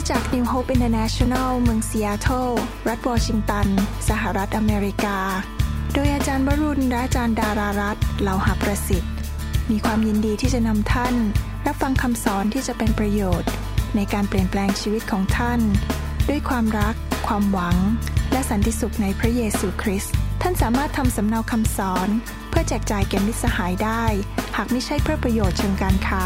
จาก New Hope International เมืองซีแอตเทิลรัฐวอชิงตันสหรัฐอเมริกาโดยอาจารย์วรุณและอาจารย์ดารารัตน์เหลาหประสิทธิ์มีความยินดีที่จะนำท่านรับฟังคำสอนที่จะเป็นประโยชน์ในการเปลี่ยนแปลงชีวิตของท่านด้วยความรักความหวังและสันติสุขในพระเยซูคริสต์ท่านสามารถทำสำเนาคำสอนเพื่อแจกจ่ายแก่มิตรสหายได้หากไม่ใช่เพื่อประโยชน์เชิงการค้า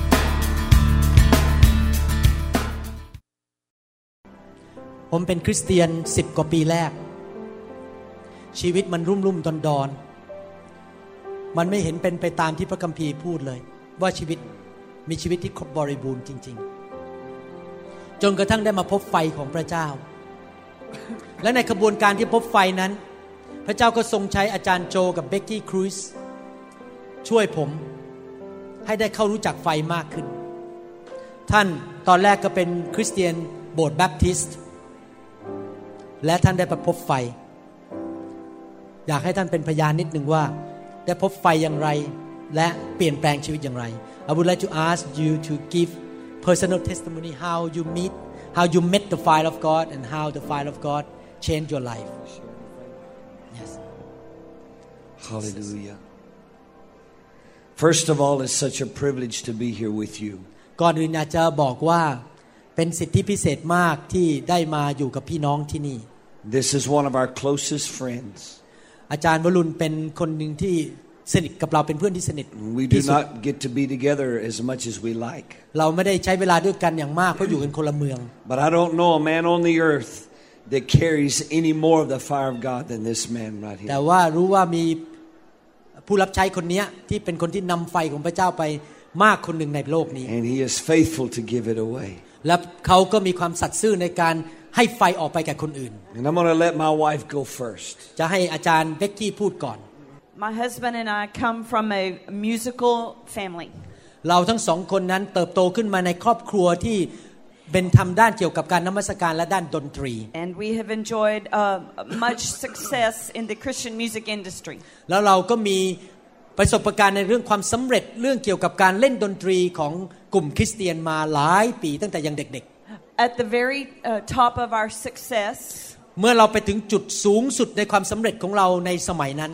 ผมเป็นคริสเตียน10 กว่าปีแรกชีวิตมันรุ่มๆดอนๆมันไม่เห็นเป็นไปตามที่พระคัมภีร์พูดเลยว่าชีวิตมีชีวิตที่ครบบริบูรณ์จริงๆจนกระทั่งได้มาพบไฟของพระเจ้าและในขบวนการที่พบไฟนั้นพระเจ้าก็ทรงใช้อาจารย์โจกับเบกกี้ครูซช่วยผมให้ได้เข้ารู้จักไฟมากขึ้นท่านตอนแรกก็เป็นคริสเตียนโบสถ์แบปทิสต์และท่านได้พบไฟอยากให้ท่านเป็นพยานนิดนึงว่าได้พบไฟอย่างไรและเปลี่ยนแปลงชีวิตอย่างไร I would like to ask you to give personal testimony how you met the fire of God and how the fire of God changed your life. Yes. Hallelujah. First of all, it's such a privilege to be here with you. ก่อนอื่นอยากจะบอกว่าเป็นสิทธิพิเศษมากที่ได้มาอยู่กับพี่น้องที่นี่ This is one of our closest friends. อาจารย์วรุณเป็นคนหนึ่งที่สนิทกับเราเป็นเพื่อนที่สนิท We do not get to be together as much as we like. เราไม่ได้ใช้เวลาด้วยกันอย่างมากเพราะอยู่กันคนละเมือง But I don't know a man on the earth that carries any more of the fire of God than this man right here. แต่ว่ารู้ว่ามีผู้รับใช้คนนี้ที่เป็นคนที่นำไฟของพระเจ้าไปมากคนหนึ่งในโลกนี้ And he is faithful to give it away. และเขาก็มีความสัตย์ซื่อในการให้ไฟออกไปแก่คนอื่น And I'm going to let my wife go first. จะให้อาจารย์เบกกี้พูดก่อน My husband and I come from a musical family. เราทั้งสองคนนั้นเติบโตขึ้นมาในครอบครัวที่เป็นทำด้านเกี่ยวกับการนมัสการและด้านดนตรี And we have enjoyed much success in the Christian music industry. แล้วเราก็มีประสบการณ์ในเรื่องความสำเร็จเรื่องเกี่ยวกับการเล่นดนตรีของกลุ่มคริสเตียนมาหลายปีตั้งแต่ยังเด็กๆ At the very top of our success, เมื่อเราไปถึงจุดสูงสุดในความสำเร็จของเราในสมัยนั้น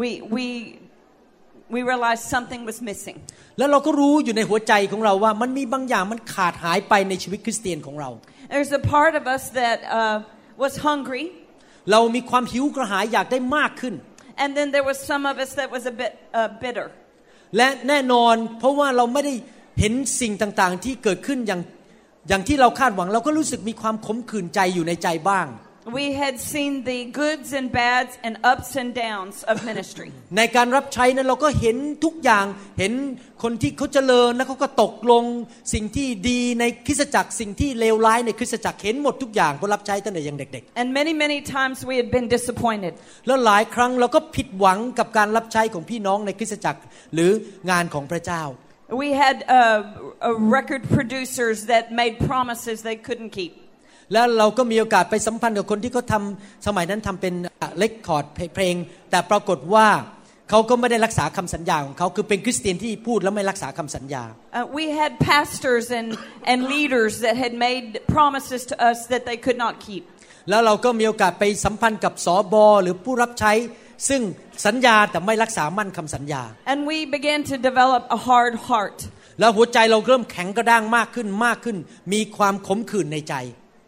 we realized something was missing. แล้วเราก็รู้อยู่ในหัวใจของเราว่ามันมีบางอย่างมันขาดหายไปในชีวิตคริสเตียนของเรา There's a part of us that was hungry. เรามีความหิวกระหายอยากได้มากขึ้น And then there was some of us that was a bit bitter. และแน่นอนเพราะว่าเราไม่ได้เห็นสิ่งต่างๆที่เกิดขึ้นอย่างที่เราคาดหวังเราก็รู้สึกมีความขมขื่นใจอยู่ในใจบ้าง We had seen the goods and bads and ups and downs of ministry. ในการรับใช้นั้นเราก็เห็นทุกอย่างเห็นคนที่เขาเจริญแล้วเขาก็ตกลงสิ่งที่ดีในคริสตจักรสิ่งที่เลวร้ายในคริสตจักรเห็นหมดทุกอย่างเพราะรับใช้ตั้งแต่ยังเด็กๆ And many times we had been disappointed. แล้วหลายครั้งเราก็ผิดหวังกับการรับใช้ของพี่น้องในคริสตจักรหรืองานของพระเจ้า We had record producers that made promises they couldn't keep. แล้วเราก็มีโอกาสไปสัมพันธ์กับคนที่เขาทำสมัยนั้นทำเป็นเรคคอร์ดเพลงแต่ปรากฏว่าเขาก็ไม่ได้รักษาคำสัญญาของเขาคือเป็นคริสเตียนที่พูดแล้วไม่รักษาคำสัญญา We had pastors and leaders that had made promises to us that they could not keep. แล้วเราก็มีโอกาสไปสัมพันธ์กับสบหรือผู้รับใช้ซึ่งสัญญาแต่ไม่รักษามั่นคำสัญญา And we began to develop a hard heart. แล้วหัวใจเราเริ่มแข็งกระด้างมากขึ้นมีความขมขื่นในใจ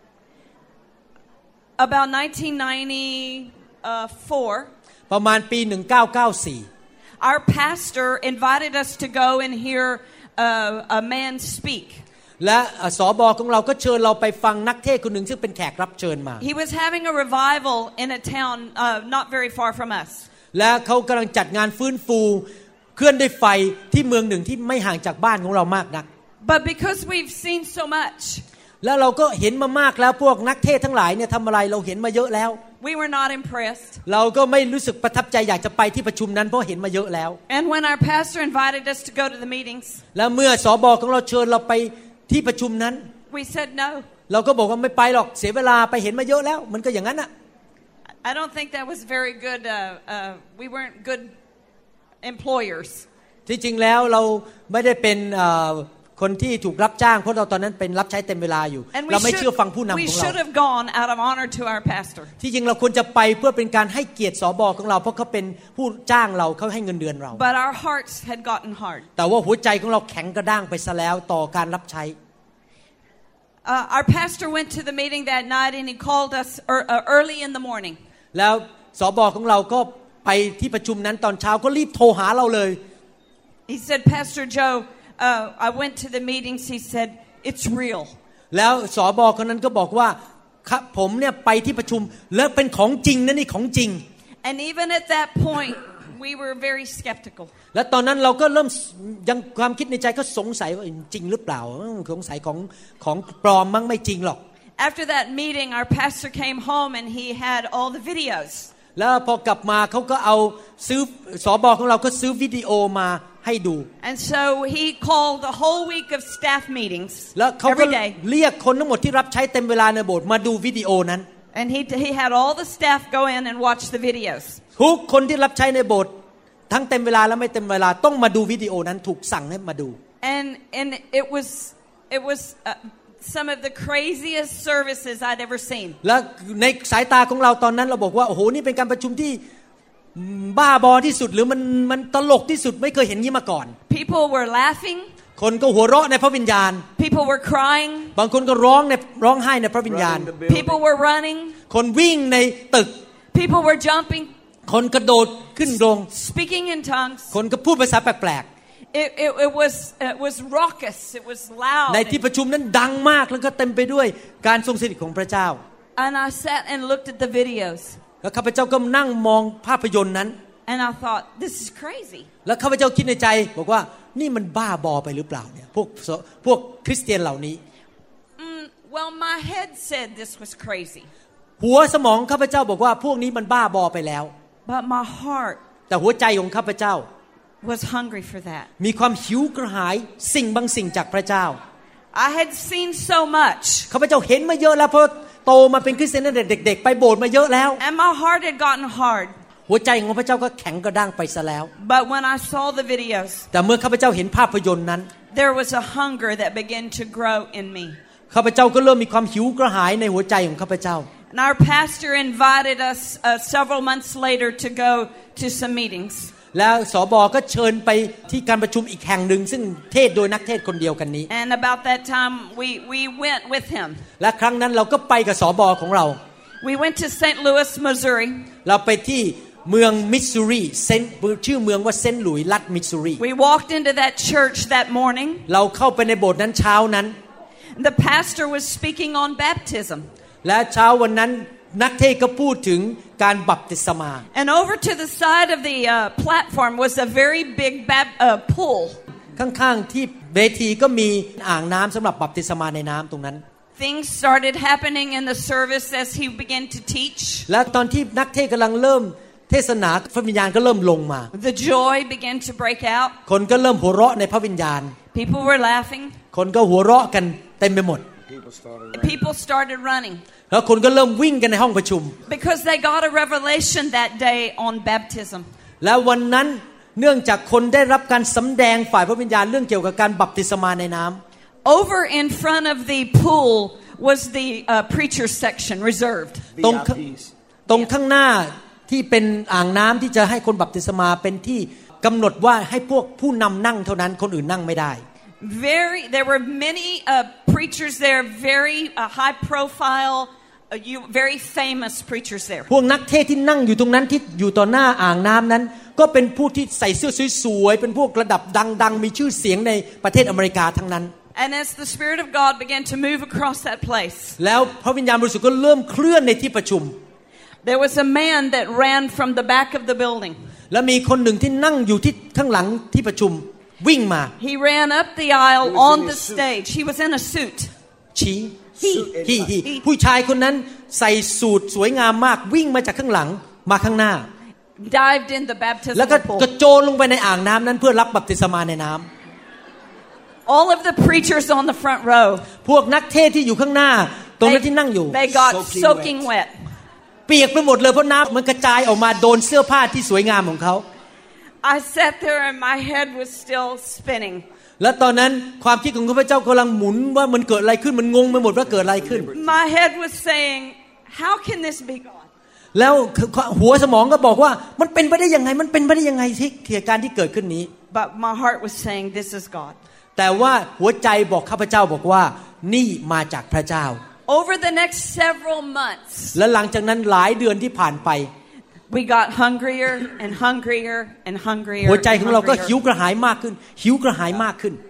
About 1994, ประมาณปี1994 our pastor invited us to go and hear a man speak. และสบของเราก็เชิญเราไปฟังนักเทศน์คนหนึ่งซึ่งเป็นแขกรับเชิญมา He was having a revival in a town not very far from us. และเขากำลังจัดงานฟื้นฟูเคลื่อนด้วยไฟที่เมืองหนึ่งที่ไม่ห่างจากบ้านของเรามากนัก But because we've seen so much, แล้วเราก็เห็นมามากแล้วพวกนักเทศน์ทั้งหลายเนี่ยทำอะไรเราเห็นมาเยอะแล้ว we were not impressed. เราก็ไม่รู้สึกประทับใจอยากจะไปที่ประชุมนั้นเพราะเห็นมาเยอะแล้ว And when our pastor invited us to go to the meetings, แล้วเมื่อสบของเราเชิญเราไปที่ประชุมนั้น we said no. เราก็บอกว่าไม่ไปหรอกเสียเวลาไปเห็นมาเยอะแล้วมันก็อย่างนั้นน่ะ I don't think that was very good. We weren't good employers. ที่จริงแล้วเราไม่ได้เป็นคนที่ถูกรับจ้างเพราะเราตอนนั้นเป็นรับใช้เต็มเวลาอยู่เราไม่เชื่อฟังผู้นำของเรา We should have gone out of honor to our pastor. ที่จริงเราควรจะไปเพื่อเป็นการให้เกียรติสบของเราเพราะเขาเป็นผู้จ้างเราเขาให้เงินเดือนเรา But our hearts had gotten hard. แต่ว่าหัวใจของเราแข็งกระด้างไปซะแล้วต่อการรับใช้ Our pastor went to the meeting that night and he called us early in the morning. แล้วสบของเราก็ไปที่ประชุมนั้นตอนเช้าก็รีบโทรหาเราเลย He said, Pastor Joe, I went to the meetings. He said, it's real. แล้วสบคนนั้นก็บอกว่าผมเนี่ยไปที่ประชุมแล้วเป็นของจริงนะนี่ของจริง And even at that point, we were very skeptical. และตอนนั้นเราก็เริ่มยังความคิดในใจก็สงสัยว่าจริงหรือเปล่าสงสัยของปลอมมั้งไม่จริงหรอก After that meeting, our pastor came home and he had all the videos. แล้วพอกลับมาเขาก็เอาซื้อสบของเราก็ซื้อวิดีโอมาให้ดู And so he called a whole week of staff meetings แล้วเขาก็ every day. เรียกคนทั้งหมดที่รับใช้เต็มเวลาในโบสถ์มาดูวิดีโอนั้น And he had all the staff go in and watch the videos. ทุกคนที่รับใช้ในโบสถ์ทั้งเต็มเวลาและไม่เต็มเวลาต้องมาดูวิดีโอนั้นถูกสั่งให้มาดู And it was some of the craziest services I'd ever seen. และในสายตาของเราตอนนั้นเราบอกว่าโอ้โหนี่เป็นการประชุมที่บ้าบอที่สุดหรือมันตลกที่สุดไม่เคยเห็นงี้มาก่อน People were laughing. คนก็หัวเราะในพระวิญญาณ People were crying. บางคนก็ร้องไห้ในพระวิญญาณ People were running. คนวิ่งในตึก People were jumping. คนกระโดดขึ้นลง Speaking in tongues. คนก็พูดภาษาแปลก It was raucous. It was loud. ๆในที่ประชุมนั้นดังมากแล้วก็เต็มไปด้วยการทรงสถิตของพระเจ้า And I sat and looked at the videos. แล้วข้าพเจ้าก็นั่งมองภาพยนตร์นั้น And I thought, this is crazy. แล้วข้าพเจ้าคิดในใจบอกว่านี่มันบ้าบอไปหรือเปล่าเนี่ยพวกคริสเตียนเหล่านี้ Well, my head said this was crazy. หัวสมองข้าพเจ้าบอกว่าพวกนี้มันบ้าบอไปแล้ว But my heart แต่หัวใจของข้าพเจ้า was hungry for that. มีความหิวกระหายสิ่งบางสิ่งจากพระเจ้า I had seen so much. ข้าพเจ้าเห็นมาเยอะแล้วเพราะโตมาเป็นคริสเตียนตั้งแต่เด็กๆไปโบสถ์มาเยอะแล้ว And my heart had gotten hard. หัวใจของพระเจ้าก็แข็งกระด้างไปซะแล้ว But when I saw the videos, แต่เมื่อข้าพเจ้าเห็นภาพยนตร์นั้น there was a hunger that began to grow in me. ข้าพเจ้าก็เริ่มมีความหิวกระหายในหัวใจของข้าพเจ้า And our pastor invited us several months later to go to some meetings. แล้วสบก็เชิญไปที่การประชุมอีกแห่งหนึ่งซึ่งเทศโดยนักเทศคนเดียวกันนี้ And about that time we went with him. และครั้งนั้นเราก็ไปกับสบของเรา We went to St. Louis, Missouri. เราไปที่เมืองมิสซูรีชื่อเมืองว่าเซนต์หลุยส์รัฐมิสซูรี We walked into that church that morning. เราเข้าไปในโบสถ์นั้นเช้านั้น The pastor was speaking on baptism. และเช้าวันนั้นนักเทศก็พูดถึงการบัพติศมา And over to the side of the platform was a very big pool. ข้างๆที่เวทีก็มีอ่างน้ำสำหรับบัพติศมาในน้ำตรงนั้น Things started happening in the service as he began to teach. และตอนที่นักเทศกำลังเริ่มเทศนาพระวิญญาณก็เริ่มลงมา The joy began to break out. คนก็เริ่มหัวเราะในพระวิญญาณ People were laughing. คนก็หัวเราะกันเต็มไปหมด People started running. แล้วคนก็เริ่มวิ่งกันในห้องประชุม Because they got a revelation that day on baptism. แล้ววันนั้นเนื่องจากคนได้รับการสำแดงฝ่ายพระวิญญาณเรื่องเกี่ยวกับการบัพติศมาในน้ำ Over in front of the pool was the preacher section reserved. ตรงข้างหน้าที่เป็นอ่างน้ำที่จะให้คนบัพติศมาเป็นที่กำหนดว่าให้พวกผู้นำนั่งเท่านั้นคนอื่นนั่งไม่ได้ There were many preachers there, very high profile, very famous preachers there. พวกนักเทศที่นั่งอยู่ตรงนั้นที่อยู่ต่อหน้าอ่างน้ำนั้นก็เป็นผู้ที่ใส่เสื้อสวยๆเป็นพวกระดับดังๆมีชื่อเสียงในประเทศอเมริกาทั้งนั้น And as the Spirit of God began to move across that place, แล้วพระวิญญาณบริสุทธิ์ก็เริ่มเคลื่อนในที่ประชุม there was a man that ran from the back of the building. และมีคนหนึ่งที่นั่งอยู่ที่ข้างหลังที่ประชุมวิ่งมา He ran up the aisle on the stage. He was in a suit. ชี้ผู้ชายคนนั้นใส่สูทสวยงามมากวิ่งมาจากข้างหลังมาข้างหน้า Dived in the baptismal แล้วก็ pool. กระโจนลงไปในอ่างน้ำนั้นเพื่อรับบัพติศมาในน้ำ All of the preachers on the front row, พวกนักเทศที่อยู่ข้างหน้าตรงนั้นที่นั่งอยู่ they got soaking wet. เปียกไปหมดเลยเพราะน้ำมันกระจายออกมาโดนเสื้อผ้าที่สวยงามของเขา I sat there and my head was still spinning. และตอนนั้นความคิดของข้าพเจ้ากำลังหมุนว่ามันเกิดอะไรขึ้นมันงงไปหมดว่าเกิดอะไรขึ้น My head was saying, how can this be God? แล้วหัวสมองก็บอกว่ามันเป็นไปได้ยังไงมันเป็นไปได้ยังไงที่เหตุการณ์ที่เกิดขึ้นนี้ But my heart was saying, this is God. แต่ว่าหัวใจบอกข้าพเจ้าบอกว่านี่มาจากพระเจ้า Over the next several months, และหลังจากนั้นหลายเดือนที่ผ่านไป we got hungrier and hungrier and hungrier. หัวใจของเราก็หิวกระหายมากขึ้นหิวกระหายมากขึ้น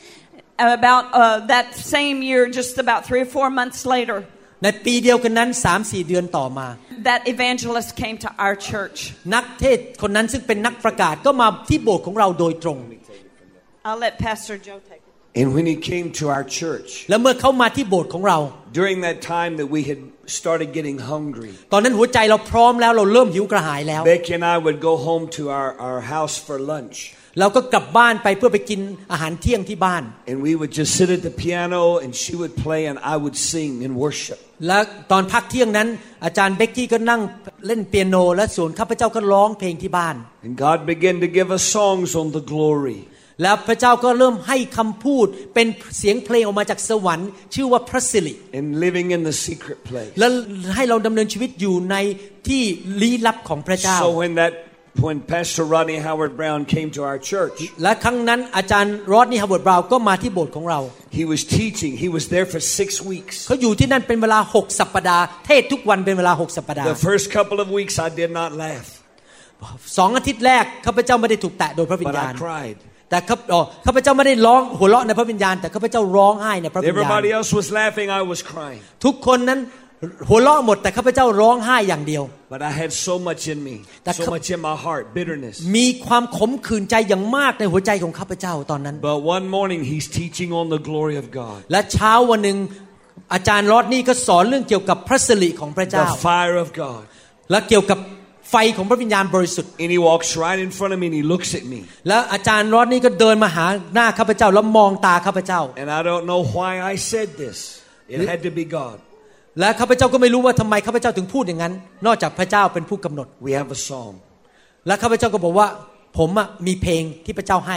About that same year, just about 3 or 4 months later, ในปีเดียวกันนั้น 3-4 เดือนต่อมา that evangelist came to our church. นักเทศคนนั้นซึ่งเป็นนักประกาศก็มาที่โบสถ์ของเราโดยตรง I'll let Pastor Joe take it. And when he came to our church, และเมื่อเขามาที่โบสถ์ของเรา during that time that we had started getting hungry, ตอนนั้นหัวใจเราพร้อมแล้วเราเริ่มหิวกระหายแล้ว Becky and I would go home to our house for lunch. เราก็กลับบ้านไปเพื่อไปกินอาหารเที่ยงที่บ้าน And we would just sit at the piano and she would play and I would sing and worship. และตอนพักเที่ยงนั้นอาจารย์เบกกี้ก็นั่งเล่นเปียโนและส่วนข้าพเจ้าก็ร้องเพลงที่บ้าน And God began to give us songs on the glory. แล้วพระเจ้าก็เริ่มให้คำพูดเป็นเสียงเพลงออกมาจากสวรรค์ชื่อว่าพระสิริ And living in the secret place. และให้เราดำเนินชีวิตอยู่ในที่ลี้ลับของพระเจ้า So when Pastor Rodney Howard-Browne came to our church, และครั้งนั้นอาจารย์รอดนี่ฮาวเวิร์ดบราวน์ก็มาที่โบสถ์ของเรา he was teaching. He was there for 6 weeks. เขาอยู่ที่นั่นเป็นเวลา6สัปดาห์เทศทุกวันเป็นเวลา6สัปดาห์ The first couple of weeks I did not laugh. 2 อาทิตย์แรกข้าพเจ้าไม่ได้ถูกแตะโดยพระวิญ But ญาณ I cried. แต่ข้าพเจ้าไม่ได้ร้องหัวเราะในพระวิญญาณแต่ข้าพเจ้าร้องไห้ในพระวิญญาณ Everybody else was laughing. I was crying. ทุกคนนั้นหัวเราะหมดแต่ข้าพเจ้าร้องไห้อย่างเดียว But I had so much in me, so much in my heart, bitterness. มีความขมขื่นใจอย่างมากในหัวใจของข้าพเจ้าตอนนั้น But one morning he's teaching on the glory of God. และเช้าวันนึงอาจารย์รอดนี่ก็สอนเรื่องเกี่ยวกับพระสิริของพระเจ้า The fire of God. และเกี่ยวกับไฟของพระวิญญาณบริสุทธิ์ And he walks right in front of me and he looks at me. แล้วอาจารย์รอดนี่ก็เดินมาหาหน้าข้าพเจ้าแล้วมองตาข้าพเจ้า And I don't know why I said this. It had to be God. และข้าพเจ้าก็ไม่รู้ว่าทำไมข้าพเจ้าถึงพูดอย่างนั้นนอกจากพระเจ้าเป็นผู้กำหนด We have a song. และข้าพเจ้าก็บอกว่าผมมีเพลงที่พระเจ้าให้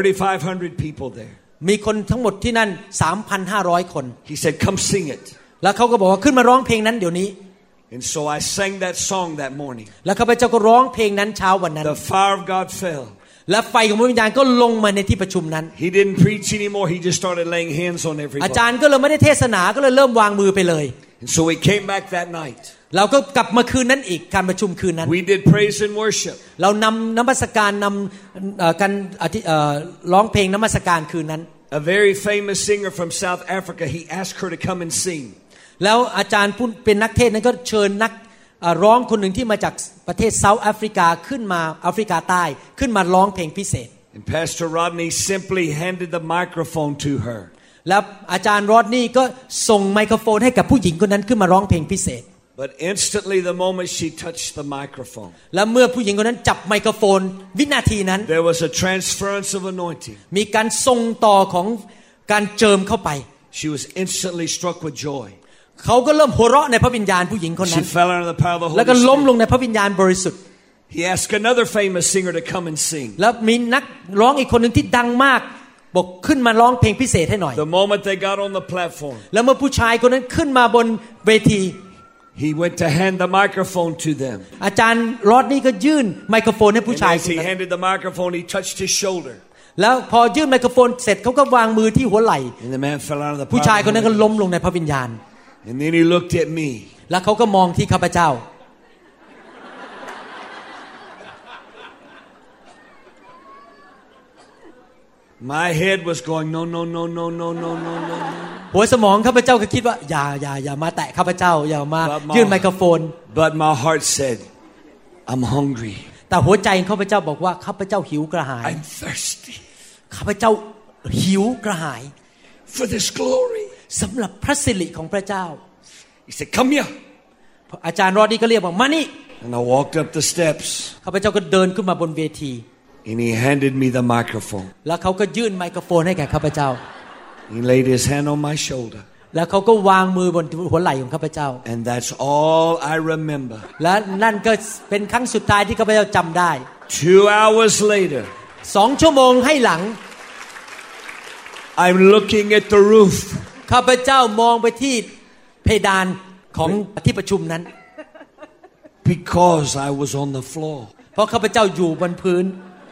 3,500 people there. มีคนทั้งหมดที่นั่น 3,500 คน He said, "Come sing it." แล้วเขาก็บอกว่าขึ้นมาร้องเพลงนั้นเดี๋ยวนี้ And so I sang that song that morning. แล้วข้าพเจ้าก็ร้องเพลงนั้นเช้าวันนั้น The fire of God fell. และไฟของพระวิญญาณก็ลงมาในที่ประชุมนั้น He didn't preach anymore. He just started laying hands on อา everybody. จารย์ก็เลยไม่ได้เทศนาก็เลยเริ่มวางมือไปเลย And so we came back that night. เราก็กลับมาคืนนั้นอีกการประชุมคืนนั้น We did praise and worship. เรานำนมัสการนำการร้องเพลงนมัสการคืนนั้น A very famous singer from South Africa, he asked her to come and sing. แล้วอาจารย์ผู้เป็นนักเทศนั้นก็เชิญนักร้องคนหนึ่งที่มาจากประเทศเซาท์แอฟริกาขึ้นมาแอฟริกาใต้ขึ้นมาร้องเพลงพิเศษ And Pastor Rodney simply handed the microphone to her. แล้วอาจารย์รอดนี่ก็ส่งไมโครโฟนให้กับผู้หญิงคนนั้นขึ้นมาร้องเพลงพิเศษ But instantly the moment she touched the microphone, และเมื่อผู้หญิงคนนั้นจับไมโครโฟนวินาทีนั้น there was a transference of anointing. มีการส่งต่อของการเจิมเข้าไป She was instantly struck with joy. เขาก็เริ่มหัวเราะในพระวิญญาณผู้หญิงคนนั้ She น fell under the power of the แล้ว Holy ก็ล้มลง Spirit. ในพระวิญญาณบริสุทธิ์ He asked another famous singer to come and sing. แล้วมีนักร้องอีกคนหนึ่งที่ดังมากบอกขึ้นมาร้องเพลงพิเศษให้หน่อย The moment they got on the platform, แล้วเมื่อผู้ชายคนนั้นขึ้นมาบนเวที he went to hand the microphone to them. อาจารย์รอดนี่ก็ยื่นไมโครโฟนให้ผู้ And ชาย as he handed the microphone, he touched his shoulder. แล้วพอยื่นไมโครโฟนเสร็จเขาก็วางมือที่หัวไหล่ And the man fell under the ผู้ power ชาย of คน the นั้นก็ Holy ล้ม Ghost. ลงในพระวิญญาณ And then he looked at me. แล้วเขาก็มองที่ข้าพเจ้า My head was going, no, no, no, no, no, no, no, no. หัวสมองข้าพเจ้าก็คิดว่าอย่ามาแตะข้าพเจ้าอย่ามายื่นไมโครโฟน But my heart said, I'm hungry. แต่หัวใจของข้าพเจ้าบอกว่าข้าพเจ้าหิวกระหาย I'm thirsty ข้าพเจ้าหิวกระหาย for this glory. สำหรับพระสิริของพระเจ้า He said, come here. อาจารย์รอดนี่ก็เรียกว่ามานี่ And I walked up the steps. ข้าพเจ้าก็เดินขึ้นมาบนเวที And he handed me the microphone. แล้วเขาก็ยื่นไมโครโฟนให้แก่ข้าพเจ้า He laid his hand on my shoulder. แล้วเขาก็วางมือบนหัวไหล่ของข้าพเจ้า And that's all I remember. และนั่นก็เป็นครั้งสุดท้ายที่ข้าพเจ้าจำได้ 2 hours later, 2 ชั่วโมงให้หลัง I'm looking at the roof. ข้าพเจ้ามองไปที่เพดานของที่ประชุมนั้น Because I was on the floor. เพราะข้าพเจ้าอยู่บนพื้น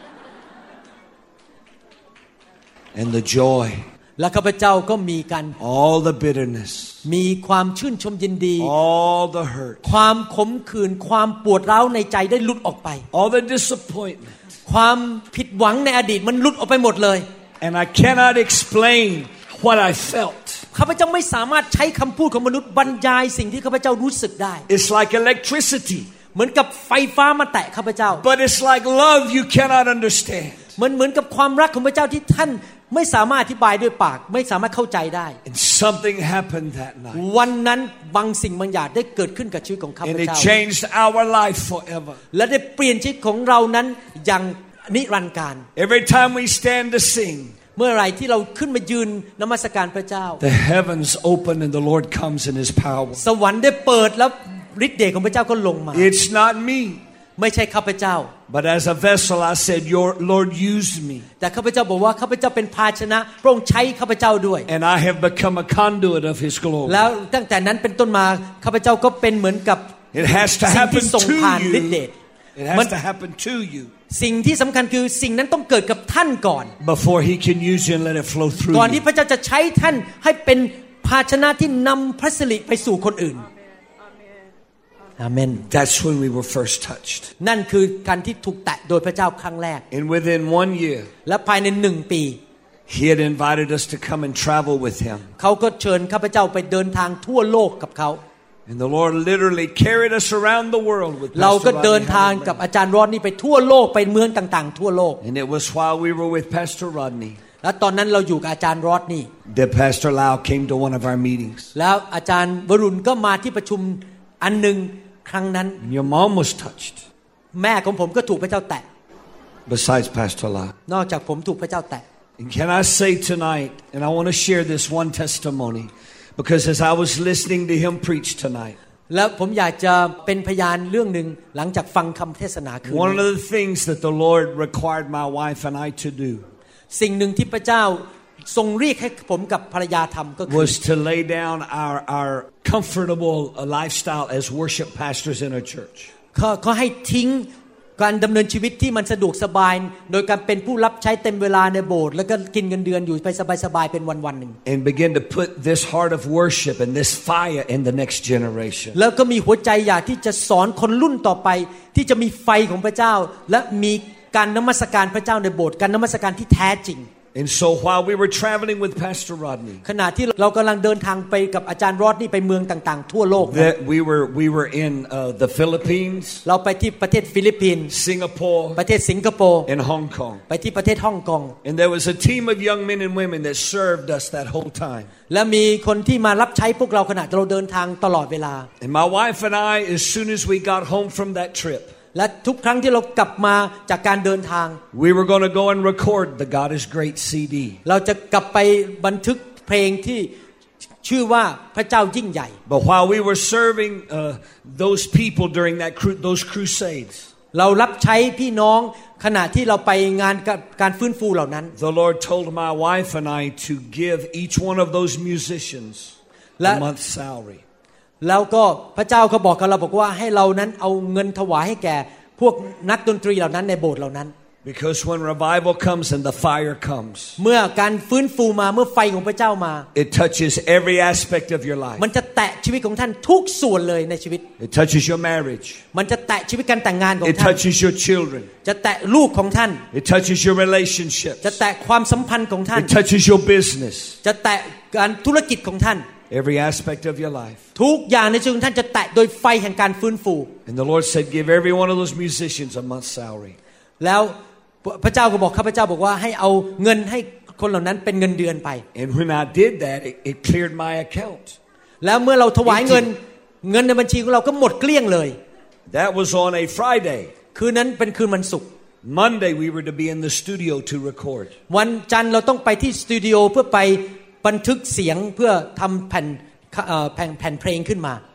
And the joy, และข้าพเจ้าก็มีกัน all the bitterness, มีความชื่นชมยินดี all the hurt, ความขมขื่นความปวดร้าวในใจได้หลุดออกไป all the disappointment. ความผิดหวังในอดีตมันหลุดออกไปหมดเลย And I cannot explain what I felt. ข้าพเจ้าไม่สามารถใช้คำพูดของมนุษย์บรรยายสิ่งที่ข้าพเจ้ารู้สึกได้ It's like electricity. เหมือนกับไฟฟ้ามาแตะข้าพเจ้า But it's like love you cannot understand. เหมือนกับความรักของพระเจ้าที่ท่านไม่สามารถอธิบายด้วยปากไม่สามารถเข้าใจได้ And something happened that night. วันนั้นบางสิ่งบางอย่างได้เกิดขึ้นกับชีวิตของข้าพ And it เจ้า changed our life forever. และได้เปลี่ยนชีวิตของเรานั้นอย่างนิรันดร์การ Every time we stand to sing, เมื่อไหร่ที่เราขึ้นมายืนนมัสการพระเจ้า the heavens open and the Lord comes in His power. สวรรค์ได้เปิดแล้วฤทธิ์เดชของพระเจ้าก็ลงมา It's not me. ไม่ใช่ข้าพเจ้า But as a vessel, I said, Your Lord used me. แต่ข้าพเจ้าบอกว่าข้าพเจ้าเป็นภาชนะพระองค์ใช้ข้าพเจ้าด้วย And I have become a conduit of His glory. แล้วตั้งแต่นั้นเป็นต้นมาข้าพเจ้าก็เป็นเหมือนกับ It has to สิ่ง happen ที่ส่ง to ผ่านฤทธิ์เด you. ช It has to happen to you สิ่งที่สำคัญคือสิ่งนั้นต้องเกิดกับท่านก่อน before He can use you and let it flow through ก่อนที่ you. พระเจ้าจะใช้ท่านให้เป็นภาชนะที่นำพระสิริไปสู่คนอื่นอาเมน That's when we were first touched. นั่นคือการที่ถูกแตะโดยพระเจ้าครั้งแรก And within 1 year, และภายใน1 ปี He had invited us to come and travel with Him. เขาก็เชิญข้าพเจ้าไปเดินทางทั่วโลกกับเขา And the Lord literally carried us around the world with เราก็ Pastor เดิน Rodney ทางกับ Howard. อาจารย์รอดนี่ไปทั่วโลกไปเมืองต่างๆทั่วโลก And it was while we were with Pastor Rodney และตอนนั้นเราอยู่กับอาจารย์รอดนี่ that Pastor Lau came to one of our meetings. แล้วอาจารย์วรุณก็มาที่ประชุมอันหนึ่งครั้งนั้น And your mom was touched, แม่ของผมก็ถูกพระเจ้าแตะ besides Pastor Lau. นอกจากผมถูกพระเจ้าแตะ And can I say tonight, and I want to share this one testimony, because as I was listening to him preach tonight, แล้วผมอยากจะเป็นพยานเรื่องหนึ่งหลังจากฟังคำเทศนาคืน one นี้ of the things that the Lord required my wife and I to do สิ่งหนึ่งที่พระเจ้าทรงเรียกให้ผมกับภรรยาทำก็คือ was to lay down our comfortable lifestyle as worship pastors in our church. เขาให้ทิ้งการดำเนินชีวิตที่มันสะดวกสบายโดยการเป็นผู้รับใช้เต็มเวลาในโบสถ์แล้วก็กินเงินเดือนอยู่ไปสบายๆเป็นวันๆหนึ่ง And begin to put this heart of worship and this fire in the next generation. แล้วก็มีหัวใจอยากที่จะสอนคนรุ่นต่อไปที่จะมีไฟของพระเจ้าและมีการนมัสการพระเจ้าในโบสถ์การนมัสการที่แท้จริง And so while we were traveling with Pastor Rodney, ขณะที่เรากำลังเดินทางไปกับอาจารย์รอดนี่ไปเมืองต่างๆทั่วโลก that we were in the Philippines, เราไปที่ประเทศฟิลิปปินส์ Singapore, ประเทศสิงคโปร์ and Hong Kong. ไปที่ประเทศฮ่องกง And there was a team of young men and women that served us that whole time. และมีคนที่มารับใช้พวกเราขณะเราเดินทางตลอดเวลา And my wife and I, as soon as we got home from that trip, และทุกครั้งที่เรากลับมาจากการเดินทาง we were going to go and record the God is Great CD. เราจะกลับไปบันทึกเพลงที่ชื่อว่าพระเจ้ายิ่งใหญ่ But while we were serving those people during those crusades, เรารับใช้พี่น้องขณะที่เราไปงานการฟื้นฟูเหล่านั้น the Lord told my wife and I to give each one of those musicians a month's salary. แล้วก็พระเจ้าก็บอกกับเราบอกว่าให้เรานั้นเอาเงินถวายให้แก่พวกนักดนตรีเหล่านั้นในโบสถ์เหล่านั้น Because when revival comes and the fire comes, เมื่อการฟื้นฟูมาเมื่อไฟของพระเจ้ามา it touches every aspect of your life. มันจะแตะชีวิตของท่านทุกส่วนเลยในชีวิต It touches your marriage. มันจะแตะชีวิตการแต่งงานของ It ท่าน touches your children. จะแตะลูกของท่าน It touches your relationships. จะแตะความสัมพันธ์ของท่าน It touches your business. จะแตะการธุรกิจของท่าน Every aspect of your life. ทุกอย่างในชีวิตของท่านจะแตะโดยไฟแห่งการฟื้นฟู And the Lord said, give every one of those musicians a month's salary. แล้วพระเจ้าก็บอกข้าพเจ้าบอกว่าให้เอาเงินให้คนเหล่านั้นเป็นเงินเดือนไป And when I did that, it cleared my account. แล้วเมื่อเราถวายเงินในบัญชีของเราก็หมดเกลี้ยงเลย That was on a Friday. คืนนั้นเป็นคืนวันศุกร์ Monday we were to be in the studio to record. วันจันทร์เราต้องไปที่สตูดิโอเพื่อไปบันทึกเสียงเพื่อทำแผ่นเพลงขึ้นมา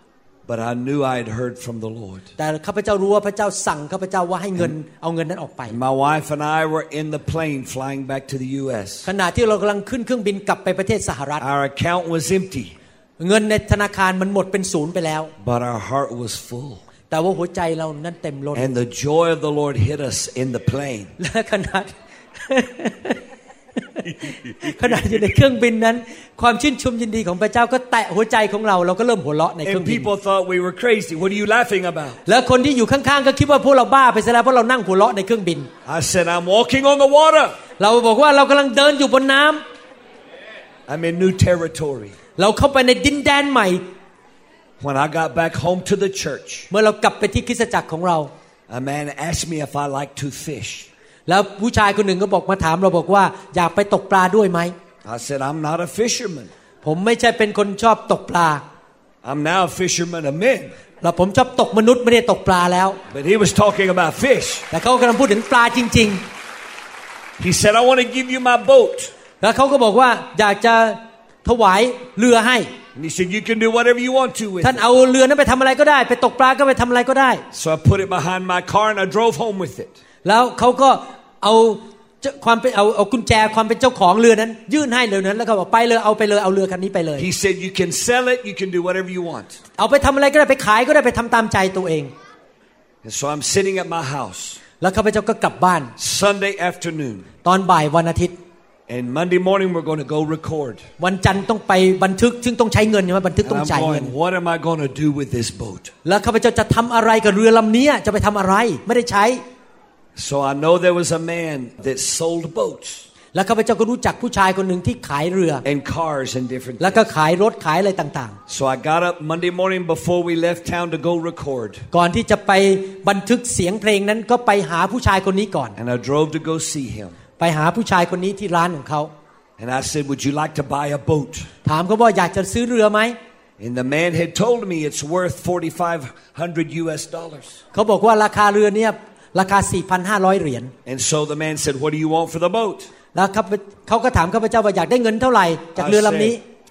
But I knew I had heard from the Lord. แต่ข้าพเจ้ารู้ว่าพระเจ้าสั่งข้าพเจ้าว่าให้เงินเอาเงินนั้นออกไป My wife and I were in the plane flying back to the U.S. ขณะที่เรากำลังขึ้นเครื่องบินกลับไปประเทศสหรัฐ Our account was empty. เงินในธนาคารมันหมดเป็นศูนย์ไปแล้ว But our heart was full. แต่ว่าหัวใจเรานั้นเต็มล้น And the joy of the Lord hit us in the plane. และขณะอยู่ในเครื่องบินนั้นความชื่นชมยินดีของพระเจ้าก็แตะหัวใจของเราเราก็เริ่มหัวเราะในเครื่อง And บิน people thought we were crazy. What are you laughing about? แล้วคนที่อยู่ข้างๆก็คิดว่าพวกเราบ้าไปซะแล้วเพราะเรานั่งหัวเราะในเครื่องบิน I said, I'm walking on the water. เราบอกว่าเรากำลังเดินอยู่บนน้ำ I'm in new territory. เราเข้าไปในดินแดนใหม่ When I got back home to the church, เมื่อเรากลับไปที่คริสตจักรของเรา a man asked me if I like to fish. แล้วผู้ชายคนหนึ่งก็บอกมาถามเราบอกว่าอยากไปตกปลาด้วยไหม I said, I'm not a fisherman. ผมไม่ใช่เป็นคนชอบตกปลา I'm now a fisherman of men. แล้วผมชอบตกมนุษย์ไม่ได้ตกปลาแล้ว But he was talking about fish. แต่เขากำลังพูดถึงปลาจริง He said, I want to give you my boat. ๆแล้วเขาก็บอกว่าอยากจะถวายเรือให้ And he said, you can do whatever you want to with ท่าน it. เอาเรือนั้นไปทำอะไรก็ได้ไปตกปลาก็ไปทำอะไรก็ได้ So I put it behind my car and I drove home with it. แล้วเขาก็เอาความเป็นเอากุญแจความเป็นเจ้าของเรือนั้นยื่นให้เรือนั้นแล้วก็บอกไปเลยเอาไปเลยเอาเรือคันนี้ไปเลย He said, you can sell it, you can do whatever you want. เอาไปทำอะไรก็ได้ไปขายก็ได้ไปทำตามใจตัวเอง And so I'm sitting at my house แล้วข้าพเจ้าก็กลับบ้าน Sunday afternoon. ตอนบ่ายวันอาทิตย์ And Monday morning we're going to go record. วันจันทร์ต้องไปบันทึกซึ่งต้องใช้เงินใช่ไหมบันทึก And ต้อง I'm จ่ายเงิน going, what am I going to do with this boat? แล้วข้าพเจ้าจะทำอะไรกับเรือลำนี้จะไปทำอะไรไม่ได้ใช้ So I know there was a man that sold boats แล้วข้าพเจ้าก็รู้จักผู้ชายคนหนึ่งที่ขายเรือ and cars and different แล้วก็ things. ขายรถขายอะไรต่าง So I got up Monday morning before we left town to go record. ๆก่อนที่จะไปบันทึกเสียงเพลงนั้นก็ไปหาผู้ชายคนนี้ก่อน And I drove to go see him. ไปหาผู้ชายคนนี้ที่ร้านของเขา And I said, would you like to buy a boat? ถามเขาว่าอยากจะซื้อเรือไหม And the man had told me it's worth $4,500. เขาบอกว่าราคาเรือเนี่ยราคา 4,500 เหรียญ And so the man said, what do you want for the boat? แล้วเขาก็ถามข้าพเจ้าว่าอยากได้เงินเท่าไหร่จากเรือลำนี้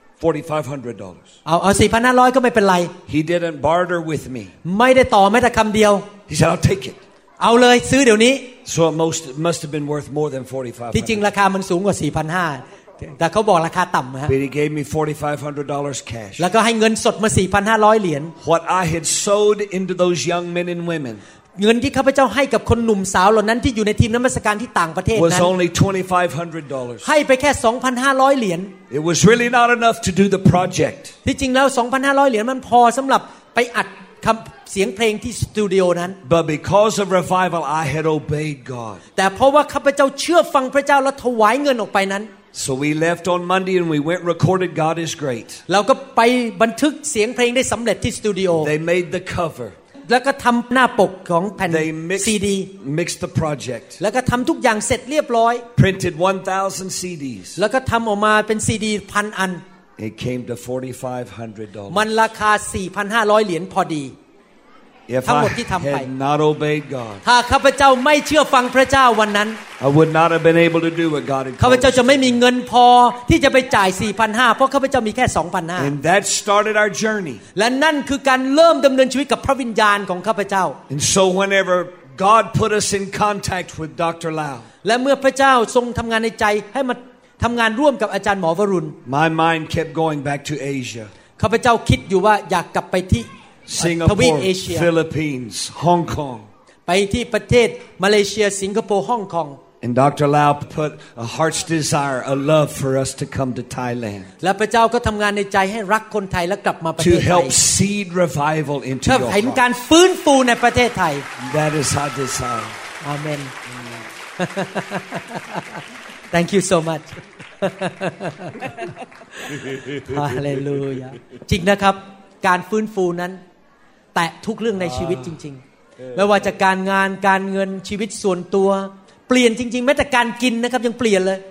$4,500. เอา 4,500 ก็ไม่เป็นไร He didn't barter with me. ไม่ได้ต่อแม้แต่คำเดียว He said, I'll take it. เอาเลยซื้อเดี๋ยวนี้ So it must have been worth more than ที่จริง $4,500. ราคามันสูงกว่า 4,500 แต่เขาบอกราคาต่ำฮะ But he gave me $4,500 cash. แล้วก็ให้เงินสดมา 4,500 เหรียญ What I had sowed into those young men and women เงินที่ข้าพเจ้าให้กับคนหนุ่มสาวเหล่านั้นที่อยู่ในทีมนมัสการที่ต่างประเทศ was นั้น only $2,500. ให้ไปแค่ 2,500 เหรียญ It was really not enough to do the project. ที่จริงแล้ว 2,500 เหรียญมันพอสำหรับไปอัดคำเสียงเพลงที่สตูดิโอนั้น But because of revival, I had obeyed God. แต่เพราะว่าข้าพเจ้าเชื่อฟังพระเจ้าและถวายเงินออกไปนั้น So we left on Monday and we went and recorded God is Great. เราก็ไปบันทึกเสียงเพลงได้สำเร็จที่สตูดิโอ They made the cover. แล้วก็ทำหน้าปกของแผ่น They ซีดี mixed the project. แล้วก็ทำทุกอย่างเสร็จเรียบร้อย Printed 1,000 CDs. แล้วก็ทำออกมาเป็นซีดี 1,000 อัน It came to $4,500. มันราคา 4,500 เหรียญพอดี If ทั้งหม I ดที่ทำไป had not obeyed God, ถ้าข้าพเจ้าไม่เชื่อฟังพระเจ้าวันนั้น I would not have been able to do what God had ข้าพ called เจ้า us จะไม่ to มี do. เงินพอที่จะไปจ่าย 4,500 เพราะข้าพเจ้ามีแค่ 2,500 And that started our journey. และนั่นคือการเริ่มดำเนินชีวิตกับพระวิญญาณของข้าพเจ้า And so whenever God put us in contact with Dr. Lau, และเมื่อพระเจ้าทรงทำงานในใจให้มาทำงานร่วมกับอาจารย์หมอวรุณ my mind kept going back to Asia. ข้าพเจ้าคิดอยู่ว่าอยากกลับไปที่ทวีป Singapore, เอเชีย Philippines, Hong Kong. ไปที่ประเทศมาเลเซียสิงคโปร์ฮ่องกง And Dr. Lau put a heart's desire, a love for us to come to Thailand. และพระเจ้าก็ทำงานในใจให้รักคนไทยและกลับมาประเท To ศไทย help seed revival into เพื่อ your เห็น heart. การฟื้นฟูในประเทศไทย That is our desire. อาเมน Thank you so much ฮาเลลูยาจริงนะครับการฟื้นฟูนั้นแตะทุกเรื่องในชีวิตจริงๆไม่ว่าจะการงานการเงินชีวิตส่วนตัวเปลี่ยนจริงๆแม้แต่การกินนะครับยังเปลี่ยนเลย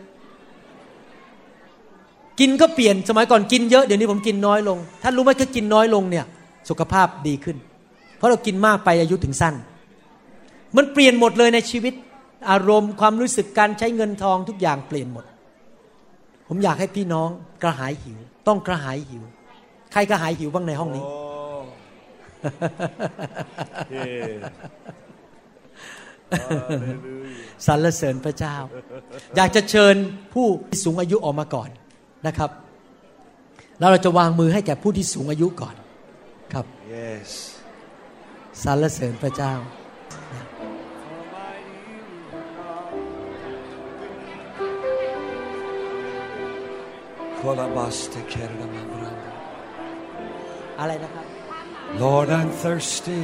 กินก็เปลี่ยนสมัยก่อนกินเยอะเดี๋ยวนี้ผมกินน้อยลงท่านรู้ไหมถ้ากินน้อยลงเนี่ยสุขภาพดีขึ้นเพราะเรากินมากไปอายุถึงสั้นมันเปลี่ยนหมดเลยในชีวิตอารมณ์ความรู้สึกการใช้เงินทองทุกอย่างเปลี่ยนหมดผมอยากให้พี่น้องกระหายหิวต้องกระหายหิวใครกระหายหิวบ้างในห้องนี้สรรเสริญพระเจ้าอยากจะเชิญผู้สูงอายุออกมาก่อนนะครับแล้วเราจะวางมือให้แก่ผู้ที่สูงอายุก่อนครับ Yes สรรเสริญพระเจ้าอะไรนะครับ Lord, I'm thirsty.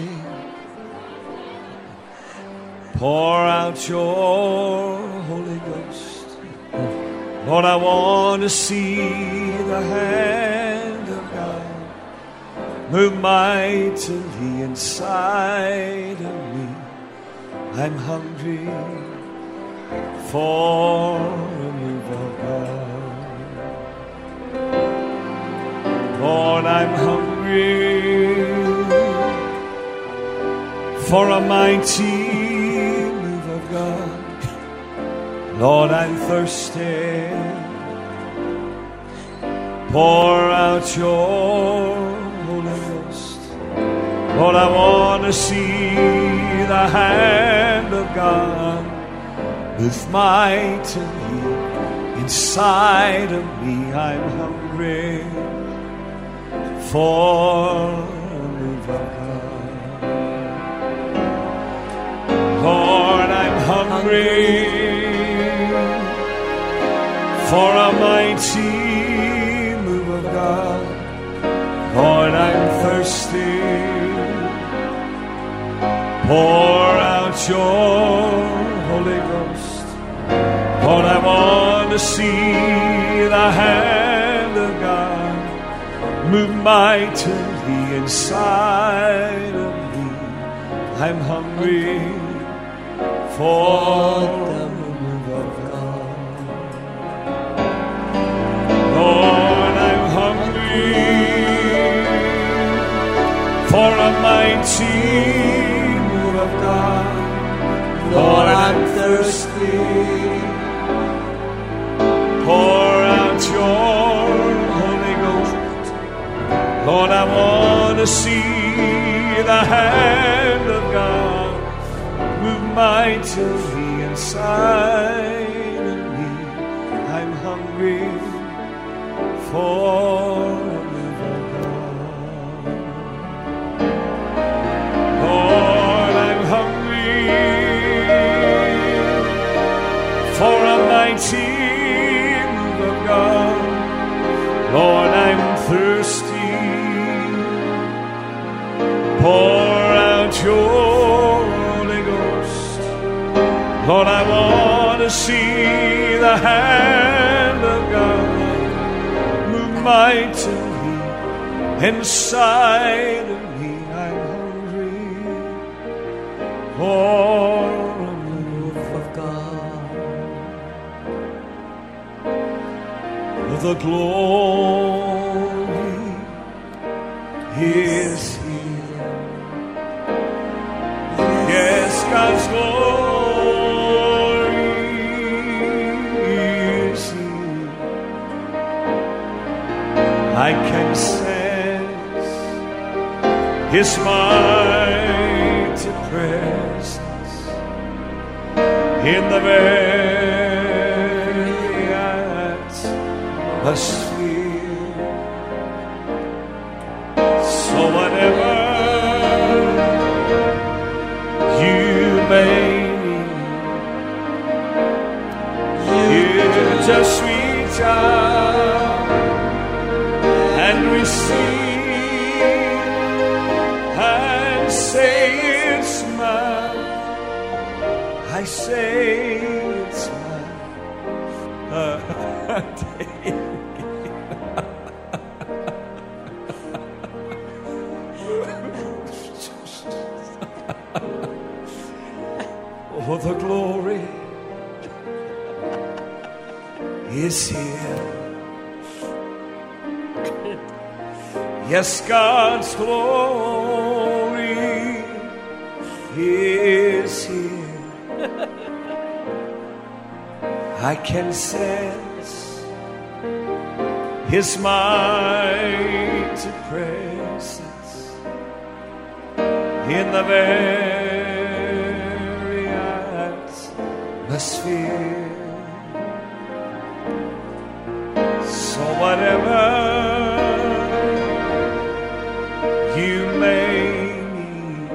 Pour out your Holy Ghost. Lord, I want to see the hand of God move mightily inside of me. I'm hungry for a move of God. Lord, I'm hungry for a mighty move of God. Lord, I'm thirsty. Pour out your Holy Ghost. Lord, I want to see the hand of God move mightily inside of me. I'm hungry for a move of God. Lord, I'm hungry for a mighty move of God. Lord, I'm thirsty. Pour out your Holy Ghost. Lord, I want to see the hand of God move mightily inside of me. I'm hungry for the move of God. Lord, I'm hungry for a mighty move of God. Lord, I'm thirsty. Pour out your Holy Ghost. Lord, I want to see the hand of God move mightily inside of me. I'm hungry for a move of God. Lord, I'm hungry for a mighty move of God. Lord, I'm thirsty. Pour out your Holy Ghost. Lord, I want to see the hand of God move mightily inside of me. I'm hungry for a move of God. The glory is here. Yes, God's glory is here. I can sense His mighty presence in the very atmosphere. So whatever you may need, you just reach out and receive and say it's mine. I say it's mine. Oh, the glory is here. Yes, God's glory is here. I can sense His mighty presence in the very atmosphere. So whatever you may need,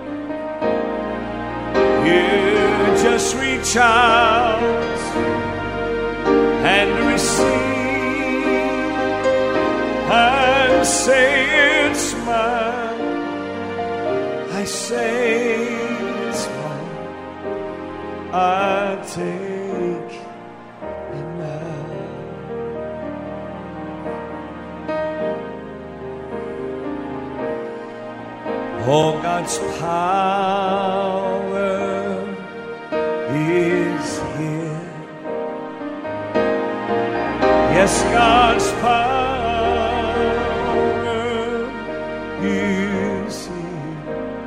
you just reach out and receive and say it's mine. I say it's mine. I take it now. Oh, God's power is here. Yes, God's power is here.